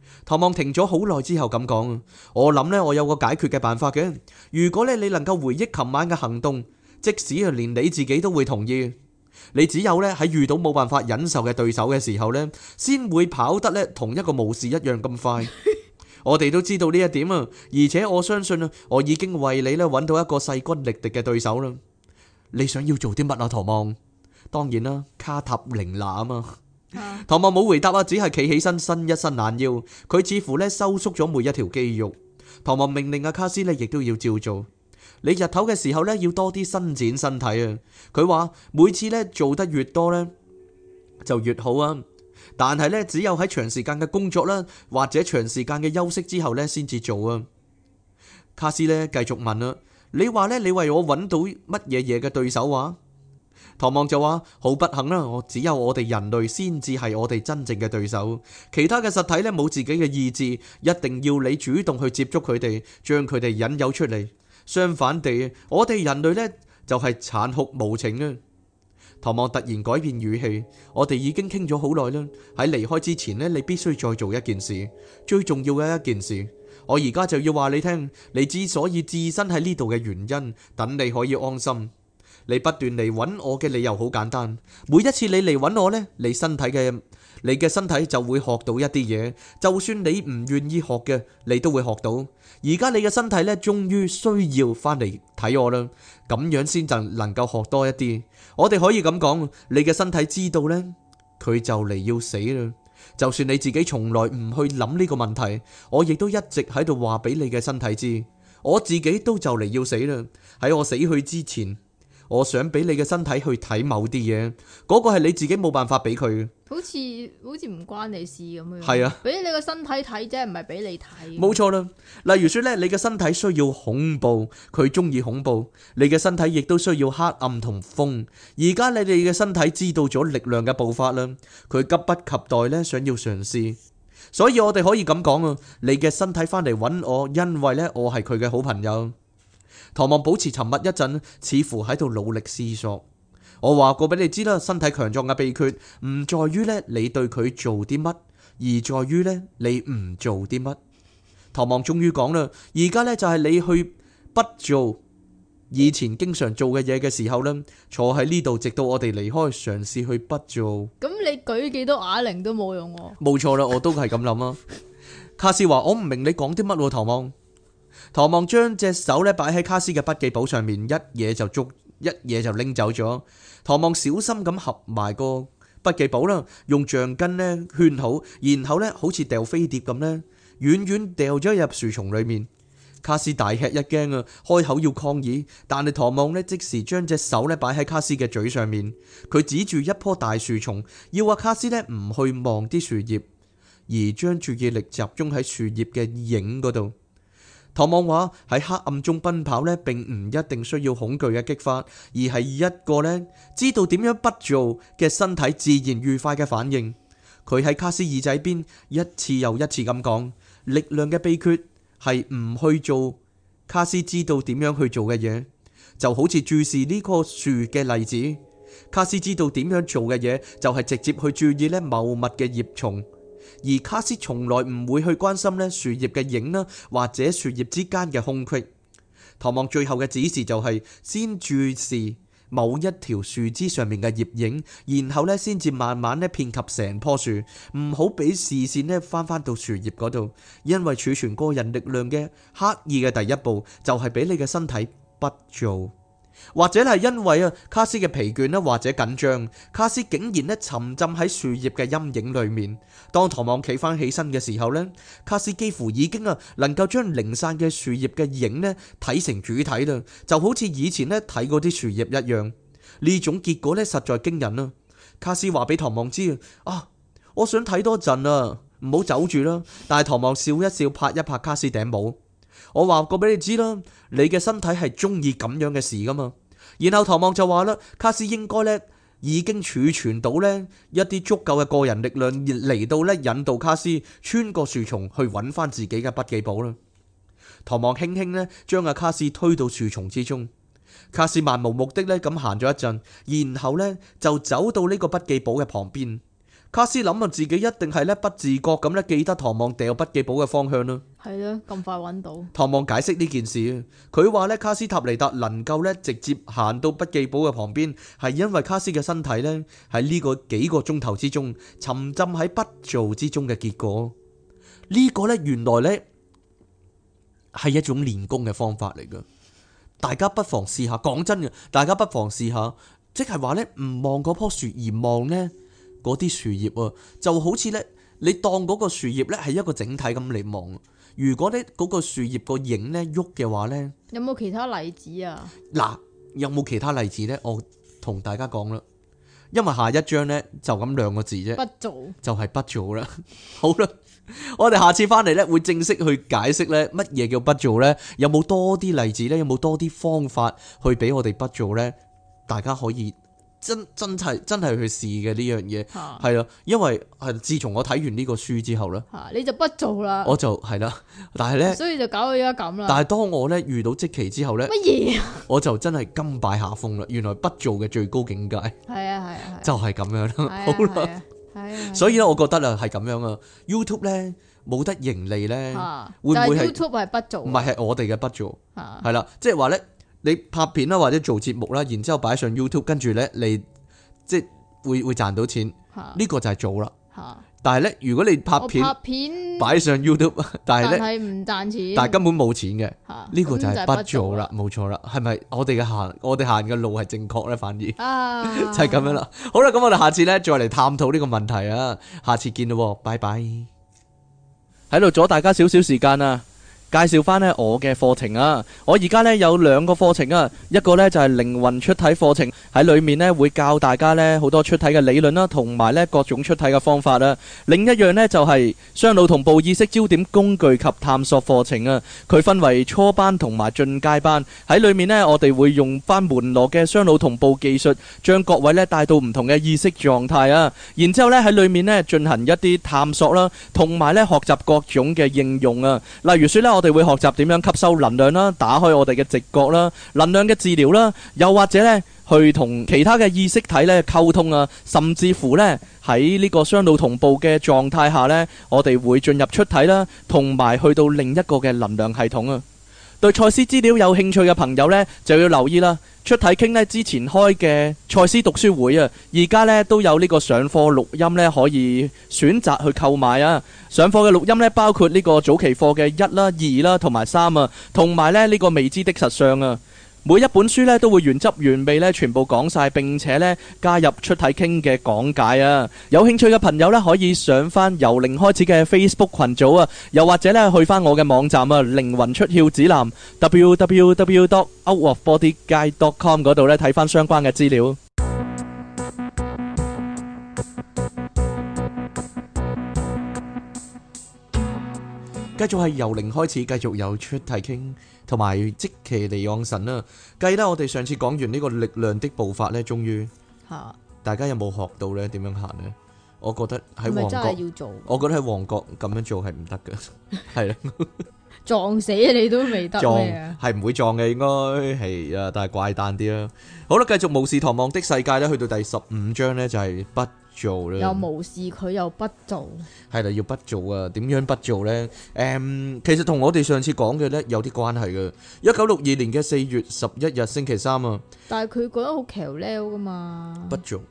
唐望停咗好耐之後咁講，我諗呢，我有個解決嘅辦法嘅。如果呢你能夠回憶琴晚嘅行動，即使啊連你自己都會同意，你只有呢喺遇到冇辦法忍受嘅對手嘅時候呢，先會跑得呢同一個巫士一樣咁快。我哋都知道呢一點啊，而且我相信啊，我已經為你呢揾到一個勢均力敵嘅對手啦。你想要做啲乜啊，唐望？當然啦，卡塔玲娜啊嘛。唐望冇回答啊，只係企起身，伸一伸懶腰，佢似乎呢收縮咗每一條肌肉。唐望命令阿卡斯呢亦都要照做。你日頭嘅時候呢，要多啲伸展身體啊。佢話每次呢做得越多呢，就越好啊。但係呢，只有喺長時間嘅工作啦，或者長時間嘅休息之後呢，先至做啊。卡斯呢繼續問啊，你話呢，你為我揾到乜嘢嘢嘅對手啊？唐望就話好不幸啦，我只有我哋人類先至係我哋真正嘅對手，其他嘅實體呢，冇自己嘅意志，一定要你主動去接觸佢哋，將佢哋引誘出嚟。相反地，我哋人類呢，就係殘酷無情啊。唐望突然改變語氣，我哋已經傾咗好耐啦，喺離開之前呢，你必須再做一件事，最重要嘅一件事。我而家就要話你聽，你之所以置身喺呢度嘅原因，等你可以安心。你不斷嚟揾我嘅理由好簡單，每一次你嚟揾我呢，你嘅身體就會學到一啲嘢，就算你唔願意學嘅，你都會學到。而家你嘅身體呢，終於需要翻嚟睇我啦，咁樣先就能夠學多一啲。我哋可以咁講，你嘅身體知道呢，佢就嚟要死啦。就算你自己從來唔去諗呢個問題，我亦都一直喺度話俾你嘅身體知，我自己都就嚟要死啦。喺我死去之前，我想俾你嘅身體去睇某啲嘢，嗰個係你自己冇辦法俾佢嘅。 好似唔關你事咁樣。 係啊， 俾你個身體睇啫，唔係俾你睇。 冇錯啦。例如說咧，你嘅身體需要恐怖，佢中意恐怖；你嘅身體亦都需要黑暗同風。而家你哋嘅身體知道咗力量嘅步伐啦，佢急不及待咧想要嘗試。所以我哋可以咁講啊，你嘅身體翻嚟揾我，因為咧我係佢嘅好朋友。唐望保持沉默一陣，似乎喺度努力思索。我話過俾你知啦，身體強壯嘅秘訣唔在於咧你對佢做啲乜，而在於咧你唔做啲乜。唐望終於講啦，而家咧就係你去不做以前經常做嘅嘢嘅時候啦，坐喺呢度直到我哋離開，嘗試去不做。 咁你舉幾多啞鈴都冇用喎。 冇錯啦，我都係咁諗啊。卡斯話：我唔明你講啲乜喎，唐望。唐望將隻手咧擺喺卡斯嘅筆記簿上面，一嘢就拎走咗。唐望小心咁合埋個筆記簿啦，用橡筋咧圈好，然後咧好似掉飛碟咁咧，遠遠掉咗入樹叢裏面。卡斯大吃一驚啊，開口要抗議，但係唐望咧即時將隻手咧擺喺卡斯嘅嘴上面，佢指住一棵大樹叢，要阿卡斯咧唔去望啲樹葉，而將注意力集中喺樹葉嘅影嗰度。唐望話喺黑暗中奔跑呢，並唔一定需要恐懼嘅激發，而係一個呢知道點樣不做嘅身體自然愉快嘅反應。佢喺卡斯耳仔邊一次又一次咁講，力量嘅秘訣係唔去做卡斯知道點樣去做嘅嘢，就好似注視呢棵樹嘅例子。卡斯知道點樣做嘅嘢，就係直接去注意呢茂密嘅葉叢。而卡斯從來唔會去關心呢樹葉嘅影啦，或者樹葉之間嘅空隙。唐望最後嘅指示就係先注視某一條樹枝上面嘅葉影，然後呢先至慢慢呢遍及成棵樹，唔好俾視線呢翻到樹葉嗰度，因為儲存個人力量嘅刻意嘅第一步就係俾你嘅身體不做。或者係因為啊卡斯嘅疲倦啦，或者緊張，卡斯竟然咧沉浸喺樹葉嘅陰影裏面。當唐望企翻起身嘅時候呢，卡斯幾乎已經能夠將零散嘅樹葉嘅影咧睇成主體啦，就好似以前咧睇嗰啲樹葉一樣。呢種結果咧實在驚人啦。卡斯話俾唐望知啊，我想睇多陣啊，唔好走住啦。但係唐望笑一笑，拍一拍卡斯頂帽。我話過俾你知啦，你嘅身體係中意咁樣嘅事噶嘛。然後唐望就話啦，卡斯應該咧已經儲存到咧一啲足夠嘅個人力量嚟到咧引導卡斯穿過樹叢去揾翻自己嘅筆記簿啦。唐望輕輕咧將阿卡斯推到樹叢之中，卡斯漫無目的咧咁行咗一陣，然後咧就走到呢個筆記簿嘅旁邊。 卡斯諗啊，自己一定係咧不自覺咁咧記得唐望掉筆記簿嘅方向啦。 係咯，咁快揾到。 唐望解釋呢件事啊，佢話咧卡斯塔尼達能夠咧直接行到筆記簿嘅旁邊，係因為卡斯嘅身體咧喺呢個幾個鐘頭之中沉浸喺不做之中嘅結果。呢個咧原來咧係一種練功嘅方法嚟噶，大家不妨試下。講真嘅，大家不妨試下，即係話咧唔望嗰棵樹而望咧嗰啲樹葉啊，就好似咧你當嗰個樹葉咧係一個整體咁嚟望。如果咧嗰個樹葉個影咧喐嘅話咧， 有冇其他例子啊？ 嗱，有冇其他例子咧？我同大家講啦，因為下一章咧就咁兩個字啫， 不做就係不做啦。好啦，我哋下次翻嚟咧會正式去解釋咧乜嘢叫不做咧，有冇多啲例子咧？有冇多啲方法去俾我哋不做咧？大家可以真係去試嘅呢樣嘢，係啦，因為係自從我睇完呢個書之後咧， 你就不做啦， 我就係啦，但係咧， 所以就搞到而家咁啦。 但係當我咧遇到即期之後咧， 乜嘢啊？ 我就真係甘拜下風啦。原來不做嘅最高境界， 係啊， 就係咁樣啦。好啦， 係啊， 所以咧，我覺得啊係咁樣啊。YouTube 咧冇得盈利咧，會唔會係 YouTube 係不做？ 唔係我哋嘅不做，係啦，即係話咧。你拍片啦，或者做節目啦，然之後擺上 YouTube， 跟住咧你即係會賺到錢，呢個就係做啦。但係咧，如果你拍片擺上 YouTube， 但係咧唔賺錢， 但係根本冇錢嘅，呢個就係不做啦，冇錯啦。係咪我哋行嘅路係正確咧？反而就係咁樣啦。好啦，咁我哋下次咧再嚟探討呢個問題啊。下次見咯，拜拜。喺度阻大家少少時間啊！介紹翻呢我嘅課程啊！我而家呢有兩個課程啊，一個呢就係靈魂出體課程，喺裏面呢會教大家呢好多出體嘅理論啦，同埋呢各種出體嘅方法啊。另一樣呢就係雙腦同步意識焦點工具及探索課程啊。佢分為初班同埋進階班，喺裏面呢我哋會用翻門羅嘅雙腦同步技術，將各位呢帶到唔同嘅意識狀態啊。然之後呢喺裏面呢進行一啲探索啦，同埋呢學習各種嘅應用啊。例如說呢，我哋會學習點樣吸收能量啦，打開我哋嘅直覺啦，能量嘅治療啦，又或者呢去同其他嘅意識體呢溝通啊，甚至乎呢喺呢個雙腦同步嘅狀態下呢，我哋會進入出體啦，同埋去到另一個嘅能量系統啊。對賽斯資料有興趣嘅朋友呢，就要留意啦。出體傾呢之前開嘅賽斯讀書會啊，而家呢都有呢個上課錄音呢可以選擇去購買啊。上課嘅錄音呢，包括呢個早期課嘅1啦、2啦同埋3啊，同埋呢個未知的實相啊。每一本書呢都會原汁原味呢全部講晒，並且呢加入出體傾嘅講解啊！有興趣嘅朋友呢可以上翻由零開始嘅 Facebook 群組啊，又或者呢去翻我嘅網站啊，靈魂出竅指南 www.outofbodyguide.com 嗰度呢睇翻相關嘅資料。繼續係由零開始，繼續有出體傾，同埋即其離岸神啦。計啦，我哋上次講完呢個力量的步伐呢，終於大家有冇學到呢？點樣行呢？我覺得喺旺角，我覺得喺旺角咁樣做係唔得嘅，係啦， 撞死你都未得咩啊？ 係唔會撞嘅，應該係啊，但係怪誕啲啦。好啦，繼續巫士唐望的世界呢，去到第15章呢，就係不做啦， 又無視佢又不做， 係啦，要不做啊？點樣不做呢？其實同我哋上次講嘅呢有啲關係嘅。1962年嘅4月11日星期三啊， 但係佢覺得好橋撩噶嘛？ 不做，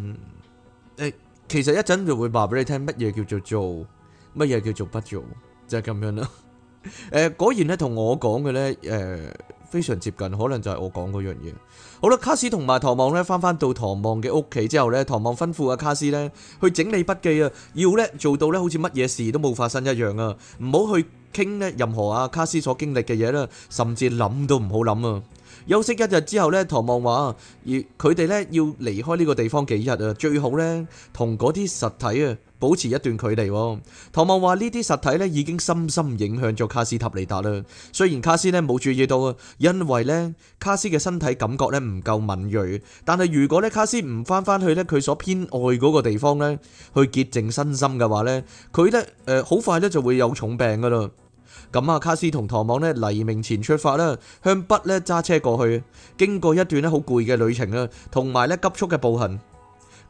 其實一陣就會話俾你聽乜嘢叫做做，乜嘢叫做不做，就係咁樣啦。果然咧同我講嘅咧，非常接近，可能就係我講嗰樣嘢。好啦，卡斯同埋唐望咧翻到唐望嘅屋企之後咧，唐望吩咐阿卡斯咧去整理筆記啊，要咧做到咧好似乜嘢事都冇發生一樣啊，唔好去傾咧任何阿卡斯所經歷嘅嘢啦，甚至諗都唔好諗啊。休息一日之後咧，唐望話而佢哋咧要離開呢個地方幾日啊，最好咧同嗰啲實體啊保持一段距離。唐望話呢啲實體咧已經深深影響咗卡斯塔尼達啦。雖然卡斯咧冇注意到啊，因為咧卡斯嘅身體感覺咧唔夠敏銳，但係如果咧卡斯唔翻去咧佢所偏愛嗰個地方咧去潔淨身心嘅話咧，佢咧好快咧就會有重病噶啦。咁啊，卡斯同唐望咧黎明前出發啦，向北咧揸車過去，經過一段咧好攰嘅旅程啦，同埋咧急速嘅步行。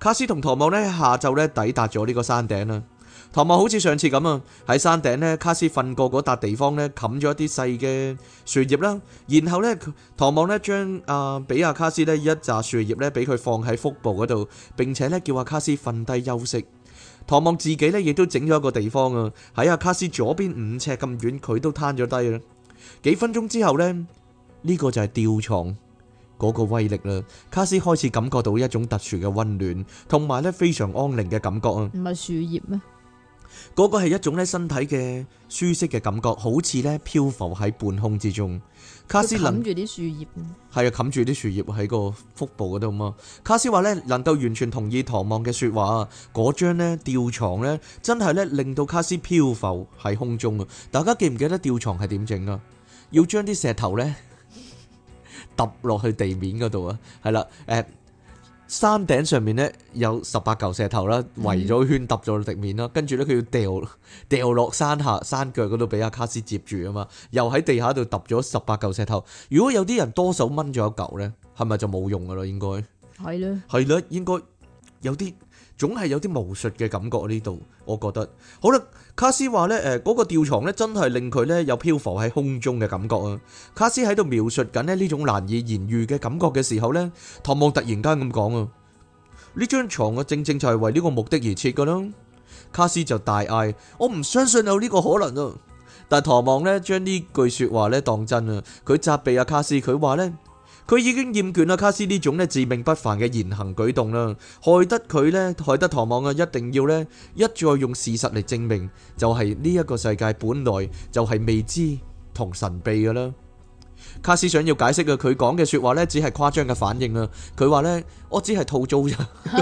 卡斯同唐望呢下晝呢抵達咗呢個山頂啦。唐望好似上次咁啊，喺山頂呢，卡斯瞓過嗰笪地方呢，冚咗一啲細嘅樹葉啦。然後呢，唐望呢將俾阿卡斯呢一紮樹葉呢俾佢放喺腹部嗰度，並且呢叫阿卡斯瞓低休息。唐望自己呢亦都整咗一個地方啊，喺阿卡斯左邊5尺咁遠，佢都攤咗低啦。幾分鐘之後呢，呢個就係吊床嗰個威力啦。卡斯開始感覺到一種特殊嘅溫暖，同埋呢非常安寧嘅感覺啊。 唔係樹葉咩？ 嗰個係一種咧身體嘅舒適嘅感覺，好似咧漂浮喺半空之中。卡斯冚住啲樹葉， 係啊，冚住啲樹葉喺個腹部嗰度嘛。卡斯話咧能夠完全同意唐望嘅說話，嗰張咧吊床咧真係咧令到卡斯漂浮喺空中啊！大家記唔記得吊床係點整啊？要將啲石頭咧揼落去地面嗰度啊，係啦，山頂上面咧有18嚿石頭啦，圍咗圈揼咗地面啦，跟住咧佢要掉落山下山腳嗰度俾阿卡斯接住啊嘛，又喺地下度揼咗18嚿石頭。如果有啲人多手掹咗一嚿咧，係咪就冇用噶啦？應該係咧， 係啦，應該有啲總係有啲巫術嘅感覺呢度，我覺得。好啦，卡斯話咧嗰個吊床咧真係令佢咧有漂浮喺空中嘅感覺啊！卡斯喺度描述緊咧呢種難以言喻嘅感覺嘅時候咧，唐望突然間咁講啊，呢張床啊正正就係為呢個目的而設噶啦。卡斯就大嗌：我唔相信有呢個可能啊！但係唐望咧將呢句說話咧當真啊，佢責備阿卡斯，佢話咧佢已經厭倦啦卡斯呢種咧自命不凡嘅言行舉動啦，害得唐望啊一定要咧一再用事實嚟證明，就係呢一個世界本來就係未知同神秘噶啦。卡斯想要解釋嘅佢講嘅說話咧只係誇張嘅反應啊，佢話咧我只係套租咋，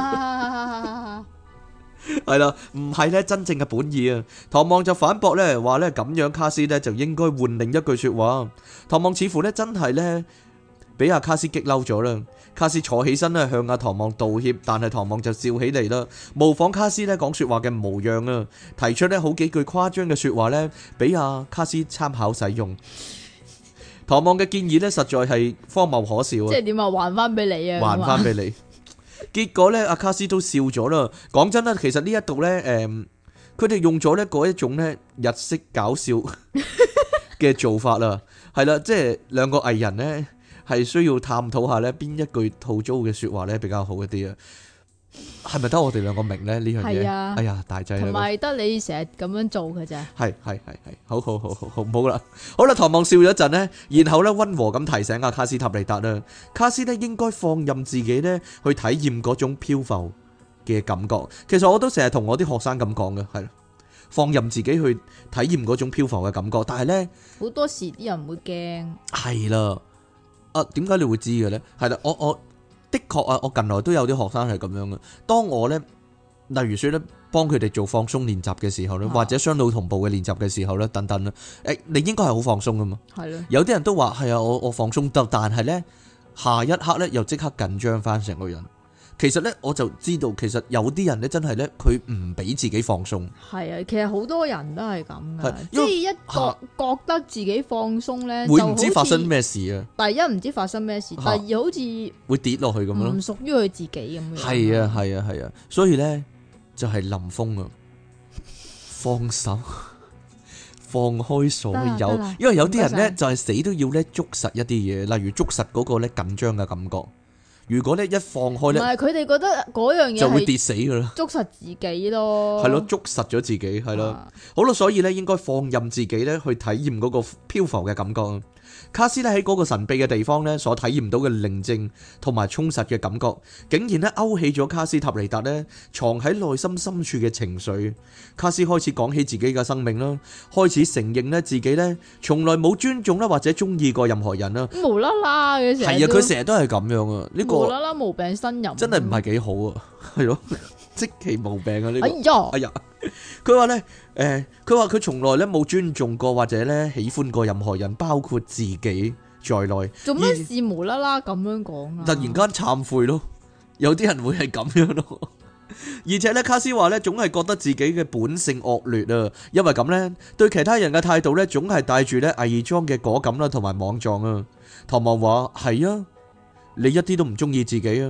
係啦，唔係咧真正嘅本意啊。唐望就反駁咧話咧咁樣卡斯咧就應該換另一句說話。唐望似乎咧真係咧俾阿卡斯激嬲咗啦，卡斯坐起身咧向阿唐望道歉，但係唐望就笑起嚟啦，模仿卡斯咧講說話嘅模樣啊，提出咧好幾句誇張嘅說話咧俾阿卡斯參考使用。唐望嘅建議咧實在係荒謬可笑啊！ 即係點啊？還翻俾你啊！ 還翻俾你。結果咧，阿卡斯都笑咗啦。講真啦，其實呢一度咧，佢哋用咗咧嗰一種咧日式搞笑嘅做法啦，係啦，即係兩個藝人咧係需要探討下咧邊一句套租嘅說話咧比較好一啲啊。係咪得我哋兩個明咧呢樣嘢？ 啊、 哎呀，大劑啦！ 同埋得你成日咁樣做嘅咋？ 係，好，唔好啦，好啦，唐望笑咗一陣呢，然後咧溫和咁提醒阿卡斯塔尼達啦，卡斯咧應該放任自己咧去體驗嗰種漂浮嘅感覺。其實我都成日同我啲學生咁講嘅，係放任自己去體驗嗰種漂浮嘅感覺。但係咧好多時啲人會驚。係啦，點解你會知嘅咧？係啦，我的確啊，我近來都有啲學生係咁樣嘅。當我咧，例如說咧，幫佢哋做放鬆練習嘅時候咧，或者雙腦同步嘅練習嘅時候咧，等等啦，你應該係好放鬆噶嘛。係咯。有啲人都話係啊，我放鬆得，但係咧下一刻咧又即刻緊張翻成個人。其實咧，我就知道，其實有啲人咧真係咧，佢唔俾自己放鬆。係啊， 其實好多人都係咁嘅，即係一覺得自己放鬆咧， 會唔知發生咩事啊？ 第一唔知發生咩事，第二好似會跌落去咁樣咯， 唔屬於佢自己咁樣。 係啊，所以咧就係林峰啊，放手，放開所有，因為有啲人咧就係死都要咧捉實一啲嘢，例如捉實嗰個咧緊張嘅感覺。如果咧一放開咧，唔係佢哋覺得嗰樣嘢就會跌死噶啦，捉實自己咯，係咯，捉實咗自己係咯，好啦，所以咧應該放任自己咧去體驗嗰個漂浮嘅感覺。卡斯咧喺嗰個神秘嘅地方咧所體驗到嘅寧靜同埋充實嘅感覺，竟然咧勾起咗卡斯塔尼達咧藏喺內心深處嘅情緒。卡斯開始講起自己嘅生命啦，開始承認咧自己咧從來冇尊重啦或者中意過任何人啦，無啦啦嘅成日係啊，佢成日都係咁樣啊，呢個無啦啦無病呻吟，真係唔係幾好啊，係咯，即其無病啊呢個，哎呀，佢話咧。佢話佢從來咧冇尊重過或者咧喜歡過任何人，包括自己在內。做咩事無啦啦咁樣講啊？突然間懺悔咯，有啲人會係咁樣咯。而且咧，卡斯話咧總係覺得自己嘅本性惡劣啊，因為咁咧對其他人嘅態度咧總係帶住咧偽裝嘅果敢啦同埋莽撞啊。唐望話係啊，你一啲都唔中意自己啊。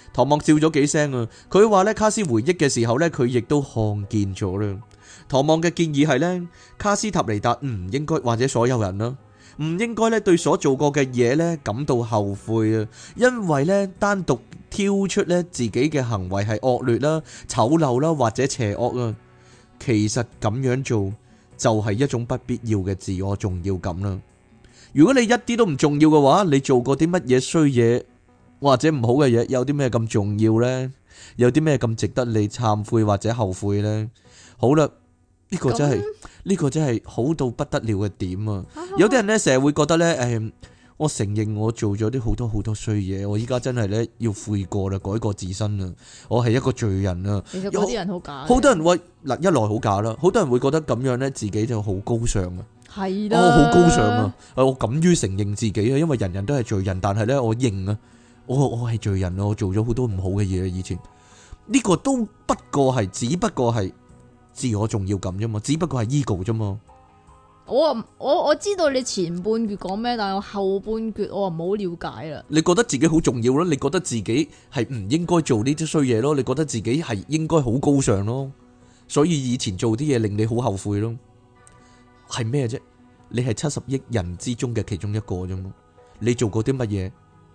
唐望笑咗幾聲啊，佢話咧卡斯回憶嘅時候咧，佢亦都看見咗啦。唐望嘅建議係咧，卡斯塔尼達唔應該或者所有人啦，唔應該咧對所做過嘅嘢咧感到後悔啊，因為咧單獨挑出咧自己嘅行為係惡劣啦、醜陋啦或者邪惡啊，其實咁樣做就係一種不必要嘅自我重要感啦。如果你一啲都唔重要嘅話，你做過啲乜嘢衰嘢或者唔好嘅嘢，有啲咩咁重要呢？有啲咩咁值得你懺悔或者後悔呢？好啦，呢個真係好到不得了嘅點啊！有啲人呢，成日會覺得呢，我承認我做咗啲好多衰嘢，我依家真係呢，要悔過啦，改過自身啦，我係一個罪人啊！ 其實嗰啲人好假， 好多人會嗱，一來好假啦，好多人會覺得咁樣呢，自己就好高尚啊！ 係啦， 我好高尚啊！我敢於承認自己啊，因為人人都係罪人，但係呢，我認啊，我係罪人啊，我做咗好多唔好嘅嘢，以前呢個都只不過係自我重要感啫嘛，只不過係 ego 啫嘛。 我知道你前半句講咩，但係我後半句我唔好了解啦。 你覺得自己好重要咯？你覺得自己係唔應該做呢啲衰嘢咯？你覺得自己係應該好高尚咯？所以以前做啲嘢令你好後悔咯？係咩啫？你係70億人之中嘅其中一個啫嘛？你做過啲乜嘢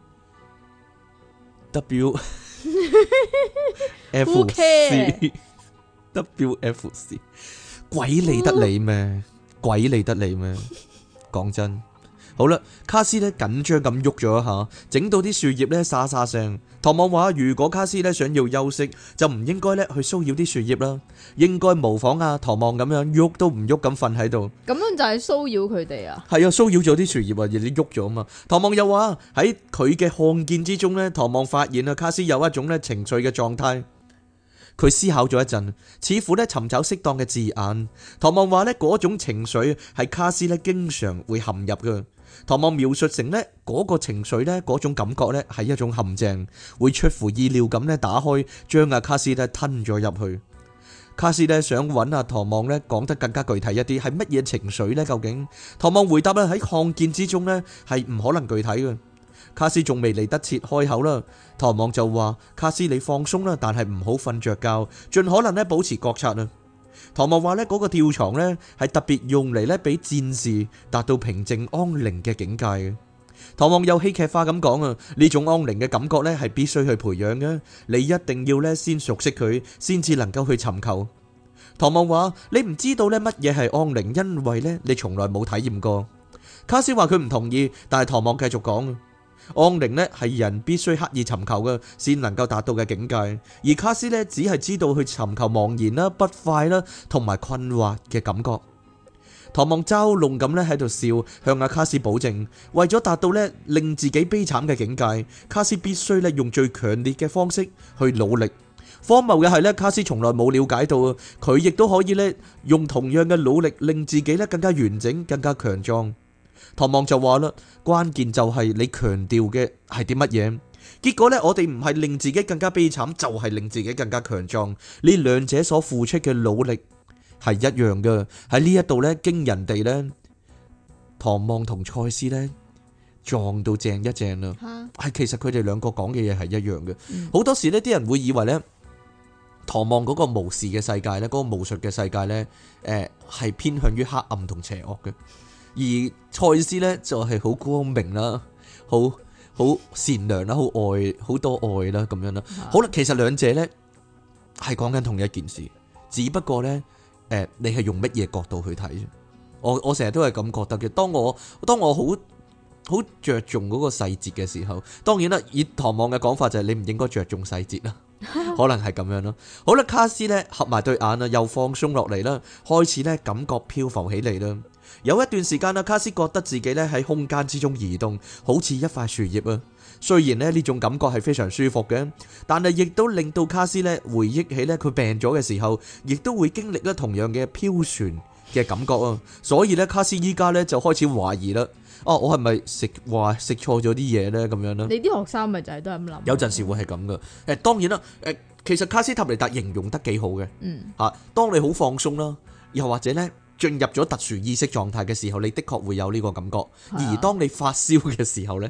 ？WFC WFC 鬼理得你咩？鬼理得你咩？講真，好啦，卡斯咧緊張咁喐咗一下，整到啲樹葉咧沙沙聲。唐望話：如果卡斯咧想要休息，就唔應該咧去騷擾啲樹葉啦，應該模仿啊唐望咁樣喐都唔喐咁瞓喺度。 咁樣就係騷擾佢哋啊？ 係啊，騷擾咗啲樹葉啊，而你喐咗啊嘛。唐望又話喺佢嘅看見之中咧，唐望發現啊卡斯有一種咧情緒嘅狀態。佢思考咗一陣，似乎咧尋找適當嘅字眼。唐望話咧嗰種情緒係卡斯咧經常會陷入嘅。唐望描述成咧嗰個情緒咧嗰種感覺咧係一種陷阱，會出乎意料咁咧打開，將阿卡斯咧吞咗入去。卡斯咧想揾阿唐望咧講得更加具體一啲，係乜嘢情緒呢？究竟？唐望回答咧喺看見之中咧係唔可能具體嘅。卡斯仲未嚟得切開口啦，唐望就話：卡斯你放鬆啦，但係唔好瞓着覺，盡可能咧保持覺察啊。唐望話咧嗰個吊床咧係特別用嚟咧俾戰士達到平靜安寧嘅境界嘅。唐望又戲劇化咁講啊，呢種安寧嘅感覺咧係必須去培養嘅，你一定要咧先熟悉佢，先至能夠去尋求。唐望話：你唔知道咧乜嘢係安寧，因為咧你從來冇體驗過。卡斯話佢唔同意，但係唐望繼續講。安寧呢係人必須刻意尋求嘅，先能夠達到嘅境界。而卡斯呢只係知道去尋求茫然啦、不快啦同埋困惑嘅感覺。唐望嘲弄咁呢喺度笑，向阿卡斯保證，為咗達到呢令自己悲慘嘅境界，卡斯必須呢用最強烈嘅方式去努力。荒謬嘅係呢，卡斯從來冇了解到啊，佢亦都可以呢用同樣嘅努力令自己呢更加完整、更加強壯。唐望就話啦，關鍵就係你強調嘅係啲乜嘢？結果呢，我哋唔係令自己更加悲慘，就係令自己更加強壯。呢兩者所付出嘅努力係一樣嘅。喺呢一度呢，經人哋呢，唐望同賽斯呢撞到正一正啦。係其實佢哋兩個講嘅嘢係一樣嘅。好多時呢啲人會以為呢，唐望嗰個巫士嘅世界呢，嗰個巫術嘅世界呢，係偏向於黑暗同邪惡嘅。而賽斯咧就係好光明啦，好善良啦，好愛，好多愛啦咁樣啦。好啦，其實兩者咧係講緊同一件事，只不過咧你係用乜嘢角度去睇啫？我成日都係咁覺得嘅。當我好着重嗰個細節嘅時候，當然啦，以唐望嘅講法就係你唔應該着重細節啦，可能係咁樣咯。好啦，卡斯咧合埋對眼啦，又放鬆落嚟啦，開始咧感覺漂浮起嚟啦。有一段時間啦，卡斯覺得自己咧喺空間之中移動，好似一塊樹葉啊。雖然咧呢種感覺係非常舒服嘅，但係亦都令到卡斯咧回憶起咧佢病咗嘅時候，亦都會經歷咧同樣嘅飄旋嘅感覺啊。所以咧卡斯依家咧就開始懷疑啦。哦，我係咪食錯咗啲嘢咧？咁樣啦。 你啲學生咪就係都係咁諗。有陣時會係咁噶。當然啦，其實卡斯塔尼達形容得幾好嘅。當你好放鬆啦，又或者咧進入咗特殊意識狀態嘅時候，你的確會有呢個感覺。而當你發燒嘅時候咧，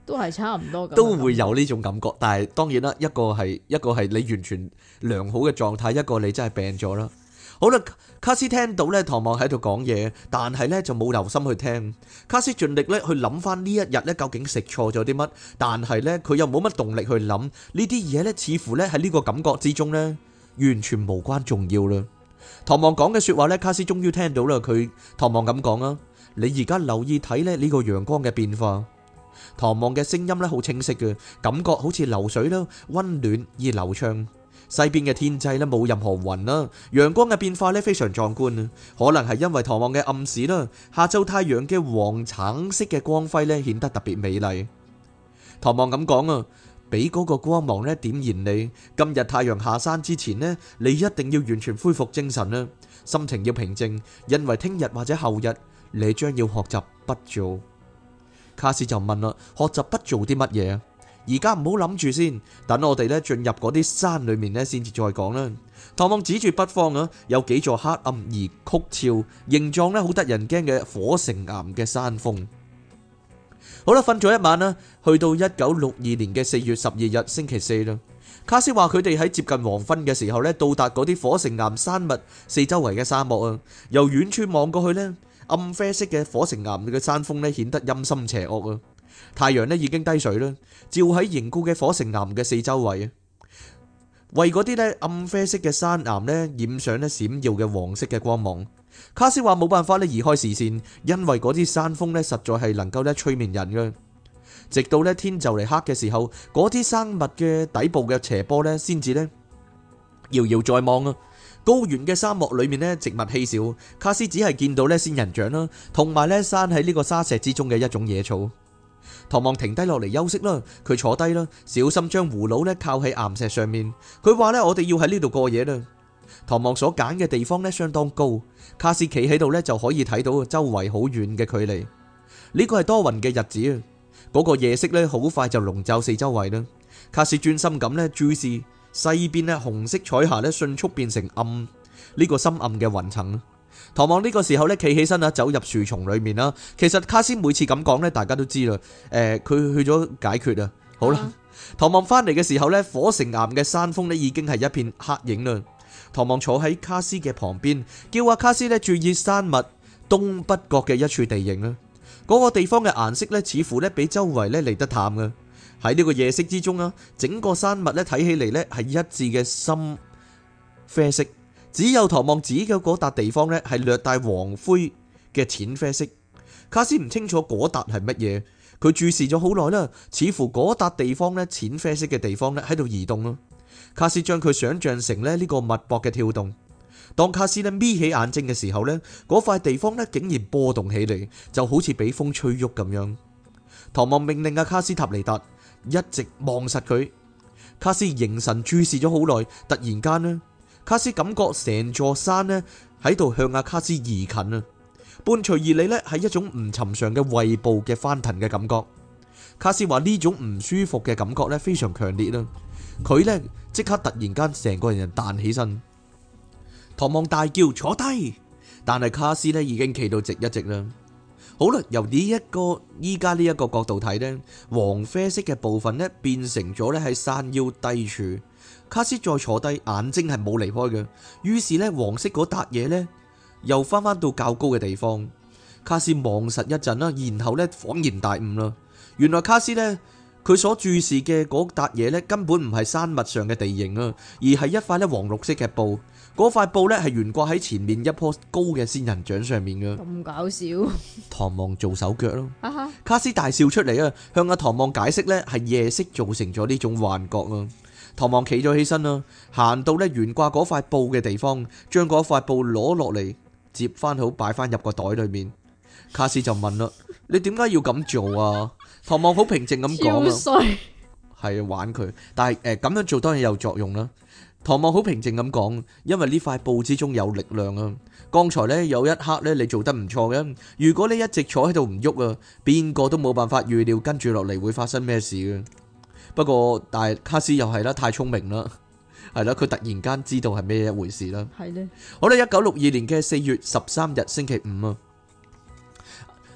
都係差唔多咁。 都會有呢種感覺。但係當然啦，一個係你完全良好嘅狀態，一個你真係病咗啦。好啦，卡斯聽到咧唐望喺度講嘢，但係咧就冇留心去聽。卡斯盡力咧去諗翻呢一日咧究竟食錯咗啲乜，但係咧佢又冇乜動力去諗呢啲嘢咧，似乎咧喺呢個感覺之中咧完全無關重要啦。唐望講嘅說話咧，卡斯終於聽到啦。唐望咁講啊，你而家留意睇咧呢個陽光嘅變化。唐望嘅聲音咧好清晰嘅，感覺好似流水啦，溫暖而流暢。西邊嘅天際咧冇任何雲啦，陽光嘅變化咧非常壯觀啊！可能係因為唐望嘅暗示啦，下晝太陽嘅黃橙色嘅光輝咧顯得特別美麗。唐望咁講啊，俾嗰個光芒咧點燃你。今日太陽下山之前呢，你一定要完全恢復精神啦，心情要平靜，因為聽日或者後日你將要學習不做。卡斯就問啦，學習不做啲乜嘢啊？而家唔好諗住先，等我哋咧進入嗰啲山裏面咧，先至再講啦。唐望指住北方啊，有幾座黑暗而曲峭、形狀咧好得人驚嘅火成岩嘅山峰。好啦，瞓咗一晚啦，去到1962年嘅4月12日星期四啦。卡斯話佢哋喺接近黃昏嘅時候咧，到達嗰啲火成岩山脈四周圍嘅沙漠啊。由遠處望過去咧，暗啡色嘅火成岩嘅山峰咧顯得陰森邪惡啊。太陽咧已經低水啦，照喺凝固嘅火成岩嘅四周圍啊，為嗰啲咧暗啡色嘅山岩咧染上咧閃耀嘅黃色嘅光芒。卡斯話冇辦法咧移開視線，因為嗰啲山峰咧實在係能夠咧催眠人嘅。直到咧天就嚟黑嘅時候，嗰啲山脈嘅底部嘅斜坡咧先至咧遙遙在望啊。高原嘅沙漠裏面咧植物稀少，卡斯只係見到咧仙人掌啦，同埋咧生喺呢個沙石之中嘅一種野草。唐望停低落嚟休息啦，佢坐低啦，小心將葫蘆咧靠喺岩石上面。佢話咧，我哋要喺呢度過夜啦。唐望所揀嘅地方咧相當高，卡斯企喺度咧就可以睇到周圍好遠嘅距離。呢個係多雲嘅日子啊，嗰個夜色咧好快就籠罩四周圍啦。卡斯專心咁咧注視西邊咧紅色彩霞咧迅速變成暗呢個深暗嘅雲層。唐望呢個時候咧企起身啦，走入樹叢裏面啦。其實卡斯每次咁講咧，大家都知啦。佢去咗解決啊。好啦，唐望翻嚟嘅時候咧，火成岩嘅山峰咧已經係一片黑影啦。唐望坐喺卡斯嘅旁邊，叫阿卡斯咧注意山脈東北角嘅一處地形啦。嗰個地方嘅顏色咧似乎咧比周圍咧嚟得淡嘅。喺呢個夜色之中啊，整個山脈咧睇起嚟咧係一致嘅深啡色。只有唐望指嘅嗰笪地方呢，係略帶黃灰嘅淺啡色。卡斯唔清楚嗰笪係乜嘢，佢注視咗好耐啦，似乎嗰笪地方呢，淺啡色嘅地方呢喺度移動咯。卡斯將佢想象成呢個脈搏嘅跳動。當卡斯呢眯起眼睛嘅時候呢，嗰塊地方呢竟然波動起嚟，就好似俾風吹喐咁樣。唐望命令阿卡斯塔尼達一直望實佢。卡斯凝神注視咗好耐，突然間呢，卡斯感覺成座山呢喺度向阿卡斯移近啊，伴隨而嚟呢係一種唔尋常嘅胃部嘅翻騰嘅感覺。卡斯話呢種唔舒服嘅感覺呢非常強烈啦，佢呢即刻突然間成個人彈起身。唐望大叫坐低，但係卡斯呢已經企到直一直啦。好啦，由依家呢一個角度睇呢，黃啡色嘅部分呢變成咗呢喺山腰低處。卡斯再坐低，眼睛係冇離開嘅。於是呢，黃色嗰笪嘢呢又翻到較高嘅地方。卡斯望實一陣啦，然後呢恍然大悟啦。原來卡斯呢，佢所注視嘅嗰笪嘢呢根本唔係山脈上嘅地形啊，而係一塊呢黃綠色嘅布。嗰塊布呢係懸掛喺前面一棵高嘅仙人掌上面嘅。 咁搞笑！ 唐望做手腳咯。卡斯大笑出嚟啊，向阿唐望解釋呢係夜色造成咗呢種幻覺啊。唐望企咗起身啦，行到咧懸掛嗰塊布嘅地方，將嗰塊布攞落嚟，接翻好，擺翻入個袋裏面。卡斯就問啦：你點解要咁做啊？唐望好平靜咁講啊，係玩佢，但係咁樣做當然有作用啦。唐望好平靜咁講，因為呢塊布之中有力量啊。剛才呢有一刻呢你做得唔錯嘅，如果你一直坐喺度唔喐啊，邊個都冇辦法預料跟住落嚟會發生咩事嘅。不過，但係卡斯又係啦，太聰明啦，係啦，佢突然間知道係咩一回事啦。係咧，好啦，1962年嘅4月13日星期五啊，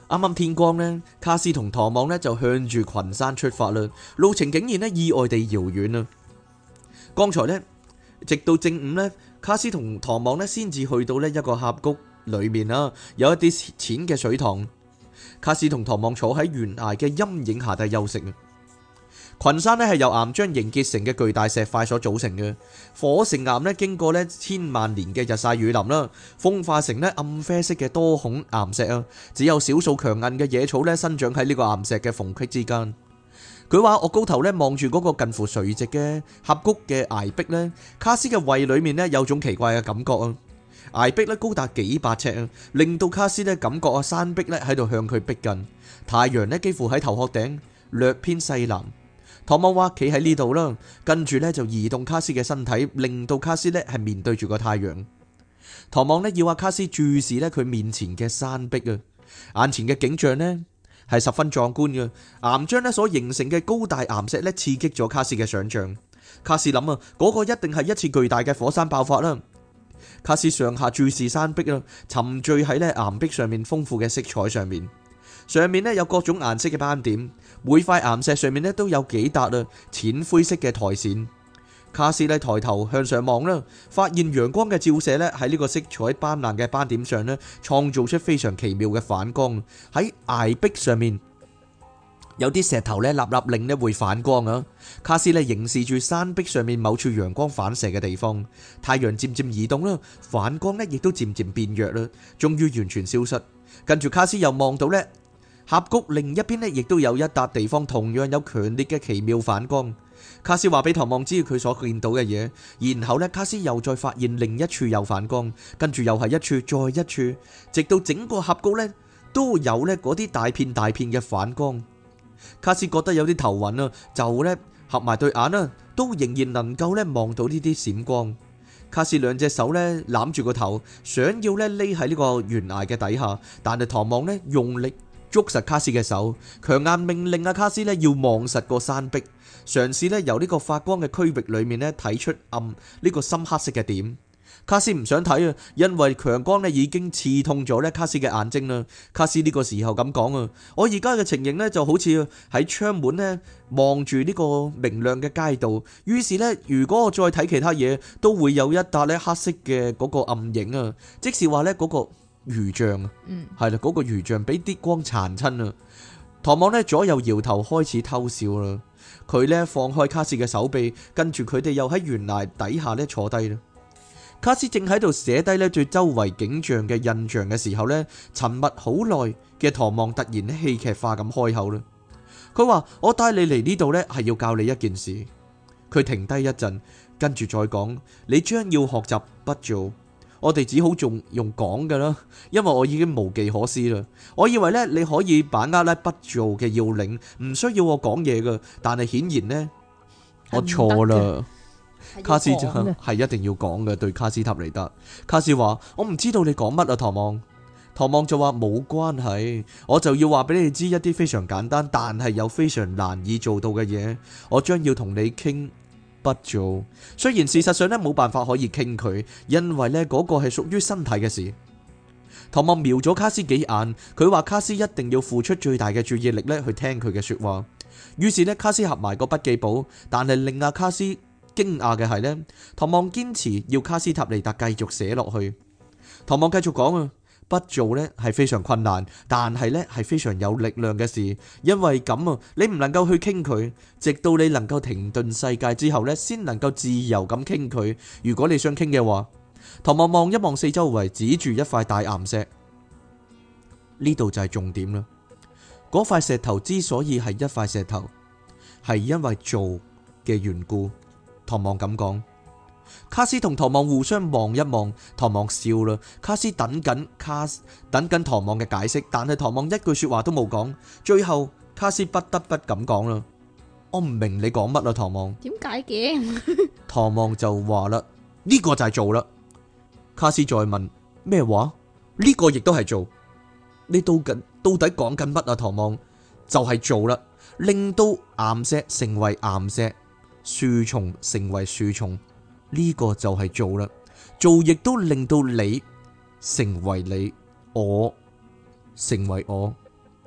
啱啱天光呢，卡斯同唐望呢就向住群山出發啦，路程竟然呢意外地遙遠啊！剛才呢，直到正午呢，卡斯同唐望呢先至去到呢一個峽谷裏面啦，有一啲淺嘅水塘。卡斯同唐望坐喺懸崖嘅陰影下底休息啊！群山呢係由岩漿凝結成嘅巨大石塊所組成嘅，火成岩呢經過呢千萬年嘅日曬雨淋啦，風化成呢暗啡色嘅多孔岩石啊！只有少數強韌嘅野草呢生長喺呢個岩石嘅縫隙之間。佢話我高頭呢望住嗰個近乎垂直嘅峽谷嘅崖壁呢，卡斯嘅胃裏面呢有種奇怪嘅感覺啊！崖壁呢高達幾百尺啊，令到卡斯呢感覺山壁呢喺度向佢逼近，太陽呢幾乎喺頭殼頂，略偏西南。唐望話企喺呢度啦，跟住呢就移動卡斯嘅身體，令到卡斯呢係面對住個太陽。唐望呢要阿卡斯注視呢佢面前嘅山壁啊，眼前嘅景象呢係十分壯觀嘅，岩漿呢所形成嘅高大岩石呢刺激咗卡斯嘅想象。卡斯諗啊，嗰個一定係一次巨大嘅火山爆發啦。卡斯上下注視山壁啊，沉醉喺呢岩壁上面豐富嘅色彩上面。上面呢有各種顏色嘅斑點，每塊岩石上面呢都有幾笪淺灰色嘅苔蘚。卡斯呢抬頭向上望啦，發現陽光嘅照射呢喺呢個色彩斑斕嘅斑點上呢，創造出非常奇妙嘅反光。喺崖壁上面有啲石頭呢立立令呢會反光啊。卡斯呢凝視住山壁上面某處陽光反射嘅地方，太陽漸漸移動啦，反光呢亦都漸漸變弱啦，終於完全消失。跟住卡斯又望到呢峽谷另一邊呢，亦都有一笪地方同樣有強烈嘅奇妙反光。卡斯話俾唐望知佢所見到嘅嘢，然後呢，卡斯又再發現另一處有反光，跟住又係一處再一處，直到整個峽谷呢都有呢嗰啲大片大片嘅反光。卡斯覺得有啲頭暈啊，就呢合埋對眼啊，都仍然能夠呢望到呢啲閃光。卡斯兩隻手呢攬住個頭，想要呢匿喺呢個懸崖嘅底下，但係唐望呢用力捉實卡斯嘅手，強硬命令阿卡斯呢要望實個山壁，嘗試呢由呢個發光嘅區域裏面呢睇出暗呢個深黑色嘅點。卡斯唔想睇啊，因為強光呢已經刺痛咗呢卡斯嘅眼睛啦。卡斯呢個時候咁講啊，我而家嘅情形呢就好似喺窗門呢望住呢個明亮嘅街道，於是呢，如果我再睇其他嘢，都會有一笪呢黑色嘅嗰個暗影啊，即是話呢嗰個魚像啊，係啦，嗰個魚像俾啲光殘親啊。唐望呢左右搖頭開始偷笑啦，佢呢放開卡斯嘅手臂，跟住佢哋又喺懸崖底下呢坐低啦。卡斯正喺度寫低呢對周圍景象嘅印象嘅時候呢，沉默好耐嘅唐望突然戲劇化咁開口啦。佢話：我帶你嚟呢度呢係要教你一件事。佢停低一陣，跟住再講：你將要學習不做。我哋只好仲用講㗎啦，因為我已經無計可施啦。我以為呢，你可以把握呢不做嘅要領，唔需要我講嘢㗎。但係顯然呢，我錯啦。卡斯就係一定要講嘅，對卡斯塔尼達。卡斯話：我唔知道你講乜啊，唐望。唐望就話：冇關係，我就要話俾你知一啲非常簡單，但係又非常難以做到嘅嘢。我將要同你傾不做，雖然事實上呢冇辦法可以傾佢，因為呢嗰個係屬於身體嘅事。唐望瞄咗卡斯幾眼，佢話卡斯一定要付出最大嘅注意力呢去聽佢嘅說話。於是呢，卡斯合埋個筆記簿，但係令阿卡斯驚訝嘅係呢，唐望堅持要卡斯塔尼達繼續寫落去。唐望繼續講啊，不做呢係非常困難，但係呢係非常有力量嘅事，因為咁啊，你唔能夠去傾佢，直到你能夠停頓世界之後呢，先能夠自由咁傾佢。如果你想傾嘅話，唐望望一望四周圍，指住一塊大岩石，呢度就係重點啦。嗰塊石頭之所以係一塊石頭，係因為做嘅緣故。唐望咁講。卡斯同唐望互相望一望，唐望笑啦。卡斯等緊唐望嘅解釋，但係唐望一句說話都冇講。最後卡斯不得不咁講啦：我唔明你講乜啦，唐望。 點解嘅？ 唐望就話啦：呢個就係做啦。卡斯再問咩話？呢個亦都係做。你到底講緊乜啊？唐望就係做啦，令到岩石成為岩石，樹叢成為樹叢。呢個就係做啦，做亦都令到你成為你，我成為我。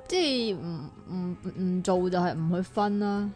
即係唔做就係唔去分啦。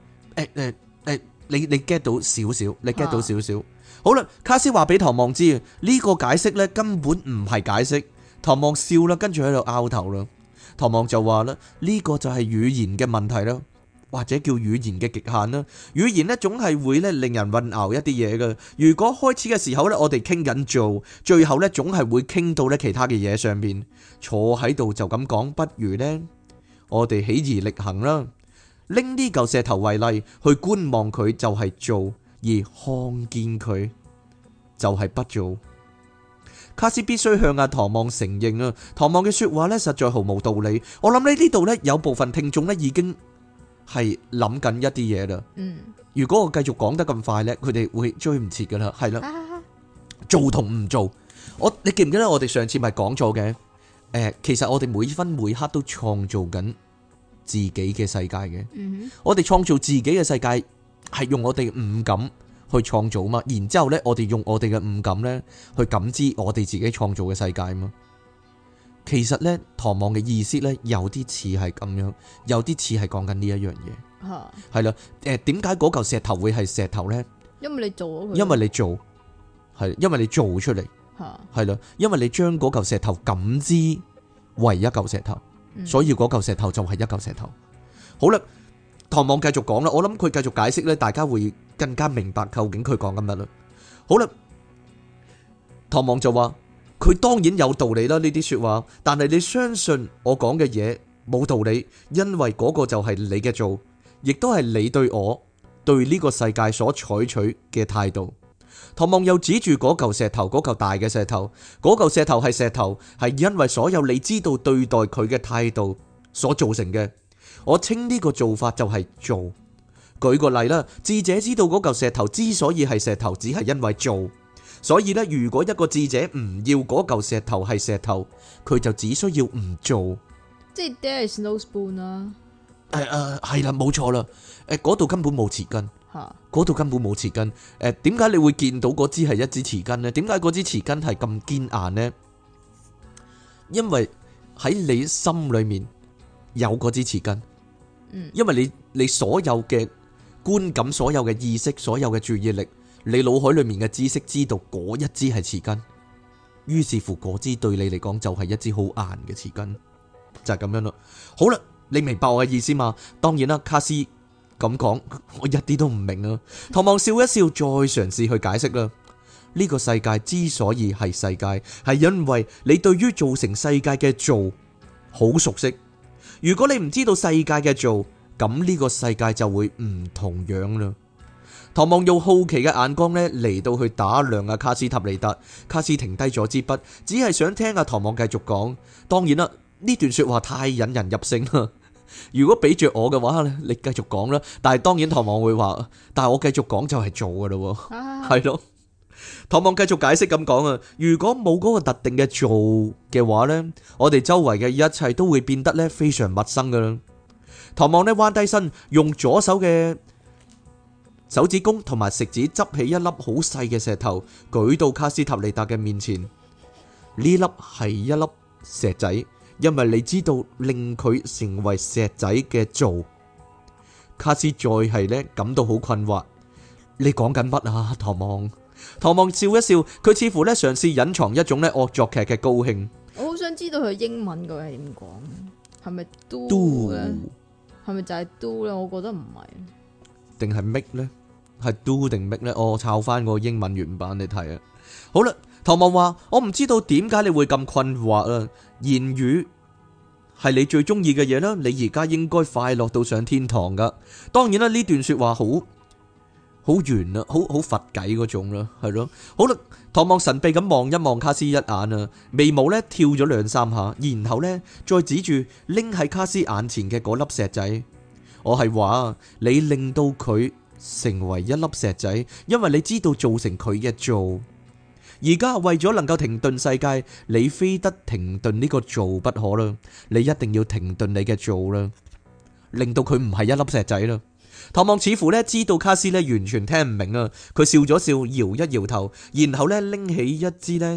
你 get 到少少，你 get 到少少。好啦，卡斯話俾唐望知呢個解釋呢根本唔係解釋。唐望笑啦，跟住喺度拗頭啦。唐望就話啦，呢個就係語言嘅問題啦，或者叫語言嘅極限啦。語言呢總係會咧令人混淆一啲嘢嘅。如果開始嘅時候呢，我哋傾緊做，最後呢總係會傾到呢其他嘅嘢上面。坐喺度就咁講，不如呢，我哋起而力行啦。拎呢嚿石頭為例，去觀望佢就係做，而看見佢就係不做。卡斯必須向阿唐望承認啊，唐望嘅說話呢實在毫無道理。我諗呢度呢有部分聽眾呢已經係諗緊一啲嘢啦。如果我繼續講得咁快呢，佢哋會追唔切噶啦。係啦，做同唔做，你記唔記得我哋上次咪講咗嘅？其實我哋每分每刻都創造緊自己嘅世界嘅。我哋創造自己嘅世界係用我哋五感去創造嘛，然之後呢，我哋用我哋嘅五感呢去感知我哋自己創造嘅世界嘛。其實呢，唐望嘅意思呢，有啲似係咁樣，有啲似係講緊呢一樣嘢。係啦，點解嗰嚿石頭會係石頭呢？因為你做咗佢，因為你做，係因為你做出嚟，係啦，因為你將嗰嚿石頭感知為一嚿石頭，所以嗰嚿石頭就係一嚿石頭。好啦。唐望繼續講啦，我諗佢繼續解釋咧，大家會更加明白究竟佢講緊乜啦。好啦，唐望就話佢當然有道理啦，呢啲說話，但係你相信我講嘅嘢冇道理，因為嗰個就係你嘅做，亦都係你對我對呢個世界所採取嘅態度。唐望又指住嗰嚿石頭，嗰嚿大嘅石頭，嗰嚿石頭係石頭，係因為所有你知道對待佢嘅態度所造成嘅。我稱呢個做法就係做。舉個例啦，智者知道嗰嚿石頭之所以係石頭，只係因為做。所以咧，如果一個智者唔要嗰嚿石頭係石頭，佢就只需要唔做。 即係 there is no spoon 啦。 係啦，冇錯啦。嗰度根本冇匙羹。嗰度根本冇匙羹。點解你會見到嗰支係一支匙羹呢？點解嗰支匙羹係咁堅硬呢？因為喺你心裏面有嗰支匙羹。因為你所有嘅觀感、所有嘅意識、所有嘅注意力，你腦海裏面嘅知識知道嗰一支係匙羹，於是乎嗰支對你嚟講就係一支好硬嘅匙羹，就係咁樣咯。好啦，你明白我嘅意思嘛？當然啦，卡斯咁講，我一啲都唔明啊。唐望笑一笑，再嘗試去解釋啦。呢個世界之所以係世界，係因為你對於造成世界嘅做好熟悉。如果你唔知道世界嘅做，咁呢個世界就會唔同樣啦。唐望用好奇嘅眼光呢嚟到去打量阿卡斯塔尼達。卡斯停低咗支筆，只係想聽阿唐望繼續講。當然啦，呢段說話太引人入勝啦。如果俾着我嘅話，你繼續講啦。但係當然唐望會話，但係我繼續講就係做噶啦，係咯。唐望繼續解釋咁講啊，如果冇嗰個特定嘅做嘅話呢，我哋周圍嘅一切都會變得呢非常陌生噶啦。唐望呢彎低身，用左手嘅手指公同埋食指執起一粒好細嘅石頭，舉到卡斯塔尼達嘅面前。呢粒係一粒石仔，因為你知道令佢成為石仔嘅做。卡斯再係呢感到好困惑，你講緊乜啊，唐望？唐望笑一笑，佢似乎咧嘗試隱藏一種咧惡作劇嘅高興。 我好想知道佢英文究竟係點講，係咪 do 咧？係咪就係 do 咧？我覺得唔係， 定係 make 咧？係 do 定 make 咧？我抄翻個英文原版你睇啊。好啦，唐望話：我唔知道點解你會咁困惑啊。言語係你最中意嘅嘢啦，你而家應該快樂到上天堂噶。當然啦，呢段說話好圓啦，好佛偈嗰種啦，係咯。好啦，唐望神秘咁望一望卡斯一眼啊，眉毛咧跳咗兩三下，然後咧再指住拎喺卡斯眼前嘅嗰粒石仔。我係話你令到佢成為一粒石仔，因為你知道造成佢嘅做。而家為咗能夠停頓世界，你非得停頓呢個做不可啦。你一定要停頓你嘅做啦，令到佢唔係一粒石仔啦。唐望似乎咧知道卡斯咧完全聽唔明啊，佢笑咗笑，搖一搖頭，然後咧拎起一支咧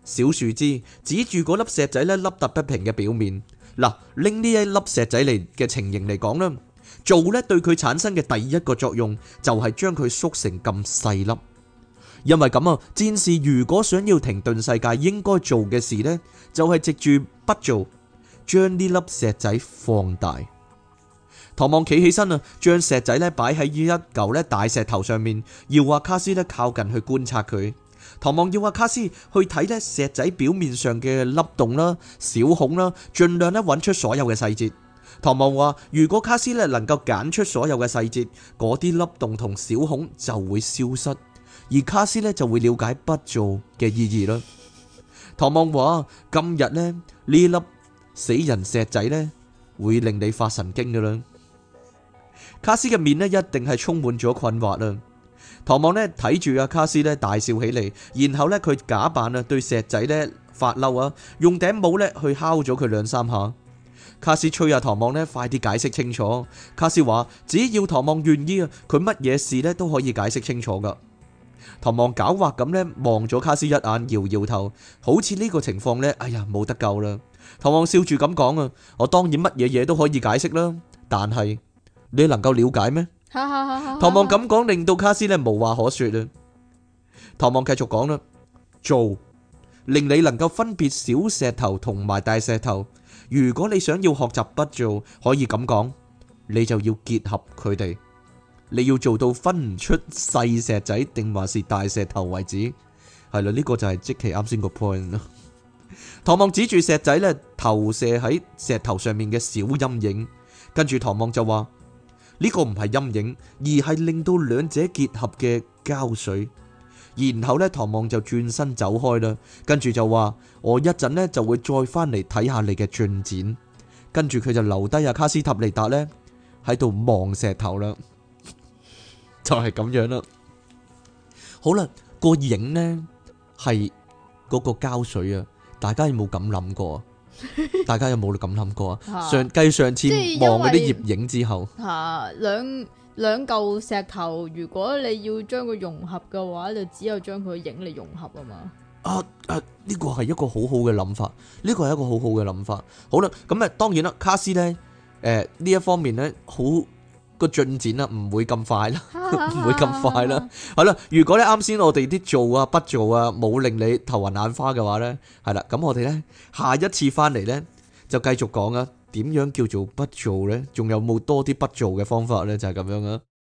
小樹枝指住嗰粒石仔咧凹凸不平嘅表面。嗱，拎呢一粒石仔嚟嘅情形嚟講啦，做咧對佢產生嘅第一個作用就係將佢縮成咁細粒。因為咁啊，戰士如果想要停頓世界，應該做嘅事呢，就係藉住不做，將呢粒石仔放大。唐望企起身啊，將石仔咧擺喺一嚿咧大石頭上面，要阿卡斯咧靠近去觀察佢。唐望要阿卡斯去睇咧石仔表面上嘅凹洞啦、小孔啦，盡量咧揾出所有嘅細節。唐望話：如果卡斯咧能夠揀出所有嘅細節，嗰啲凹洞同小孔就會消失，而卡斯咧就會了解不做嘅意義啦。唐望話：今日咧呢粒死人石仔咧會令你發神經噶啦。卡斯嘅面咧一定係充滿咗困惑啦。唐望咧睇住阿卡斯咧大笑起嚟，然後咧佢假扮啊對石仔咧發嬲啊，用頂帽咧去敲咗佢兩三下。卡斯催阿唐望咧快啲解釋清楚。卡斯話只要唐望願意啊，佢乜嘢事咧都可以解釋清楚噶。唐望狡猾咁咧望咗卡斯一眼，搖搖頭，好似呢個情況咧，哎呀冇得救啦。唐望笑住咁講啊，我當然乜嘢嘢都可以解釋啦，但係你能夠了解咩？唐望咁講，令到卡斯咧無話可說啦。唐望繼續講啦，做令你能夠分別小石頭同埋大石頭。如果你想要學習不做，可以咁講，你就要結合佢哋。你要做到分唔出細石仔定還是大石頭為止。係啦，呢個就係即其啱先個 point 啦。唐望指住石仔咧投射喺石頭上面嘅小陰影，跟住唐望就話。呢個唔係陰影，而係令到兩者結合嘅膠水。然後呢，唐望就轉身走開啦。跟住就話：我一陣呢就會再翻嚟睇下你嘅進展。跟住佢就留低阿卡斯塔尼達呢喺度望石頭啦，就係咁樣啦。好啦，個影呢係嗰個膠水啊，大家有冇咁諗過？大家有冇咁諗過啊？上次望嗰啲葉影之後， 兩嚿石頭，如果你要將佢融合嘅話，就只有將佢影嚟融合啊嘛。 呢個係一個好好嘅諗法，呢個係一個好好嘅諗法。好啦，咁啊，當然啦，卡斯呢，呢一方面呢，好個進展啦，唔會咁快啦，唔會咁快啦。係啦，如果咧啱先我哋啲做啊不做啊冇令你頭暈眼花嘅話呢，係啦，咁我哋呢，下一次翻嚟呢，就繼續講啊，點樣叫做不做呢？仲有冇多啲不做嘅方法呢？就係咁樣啊。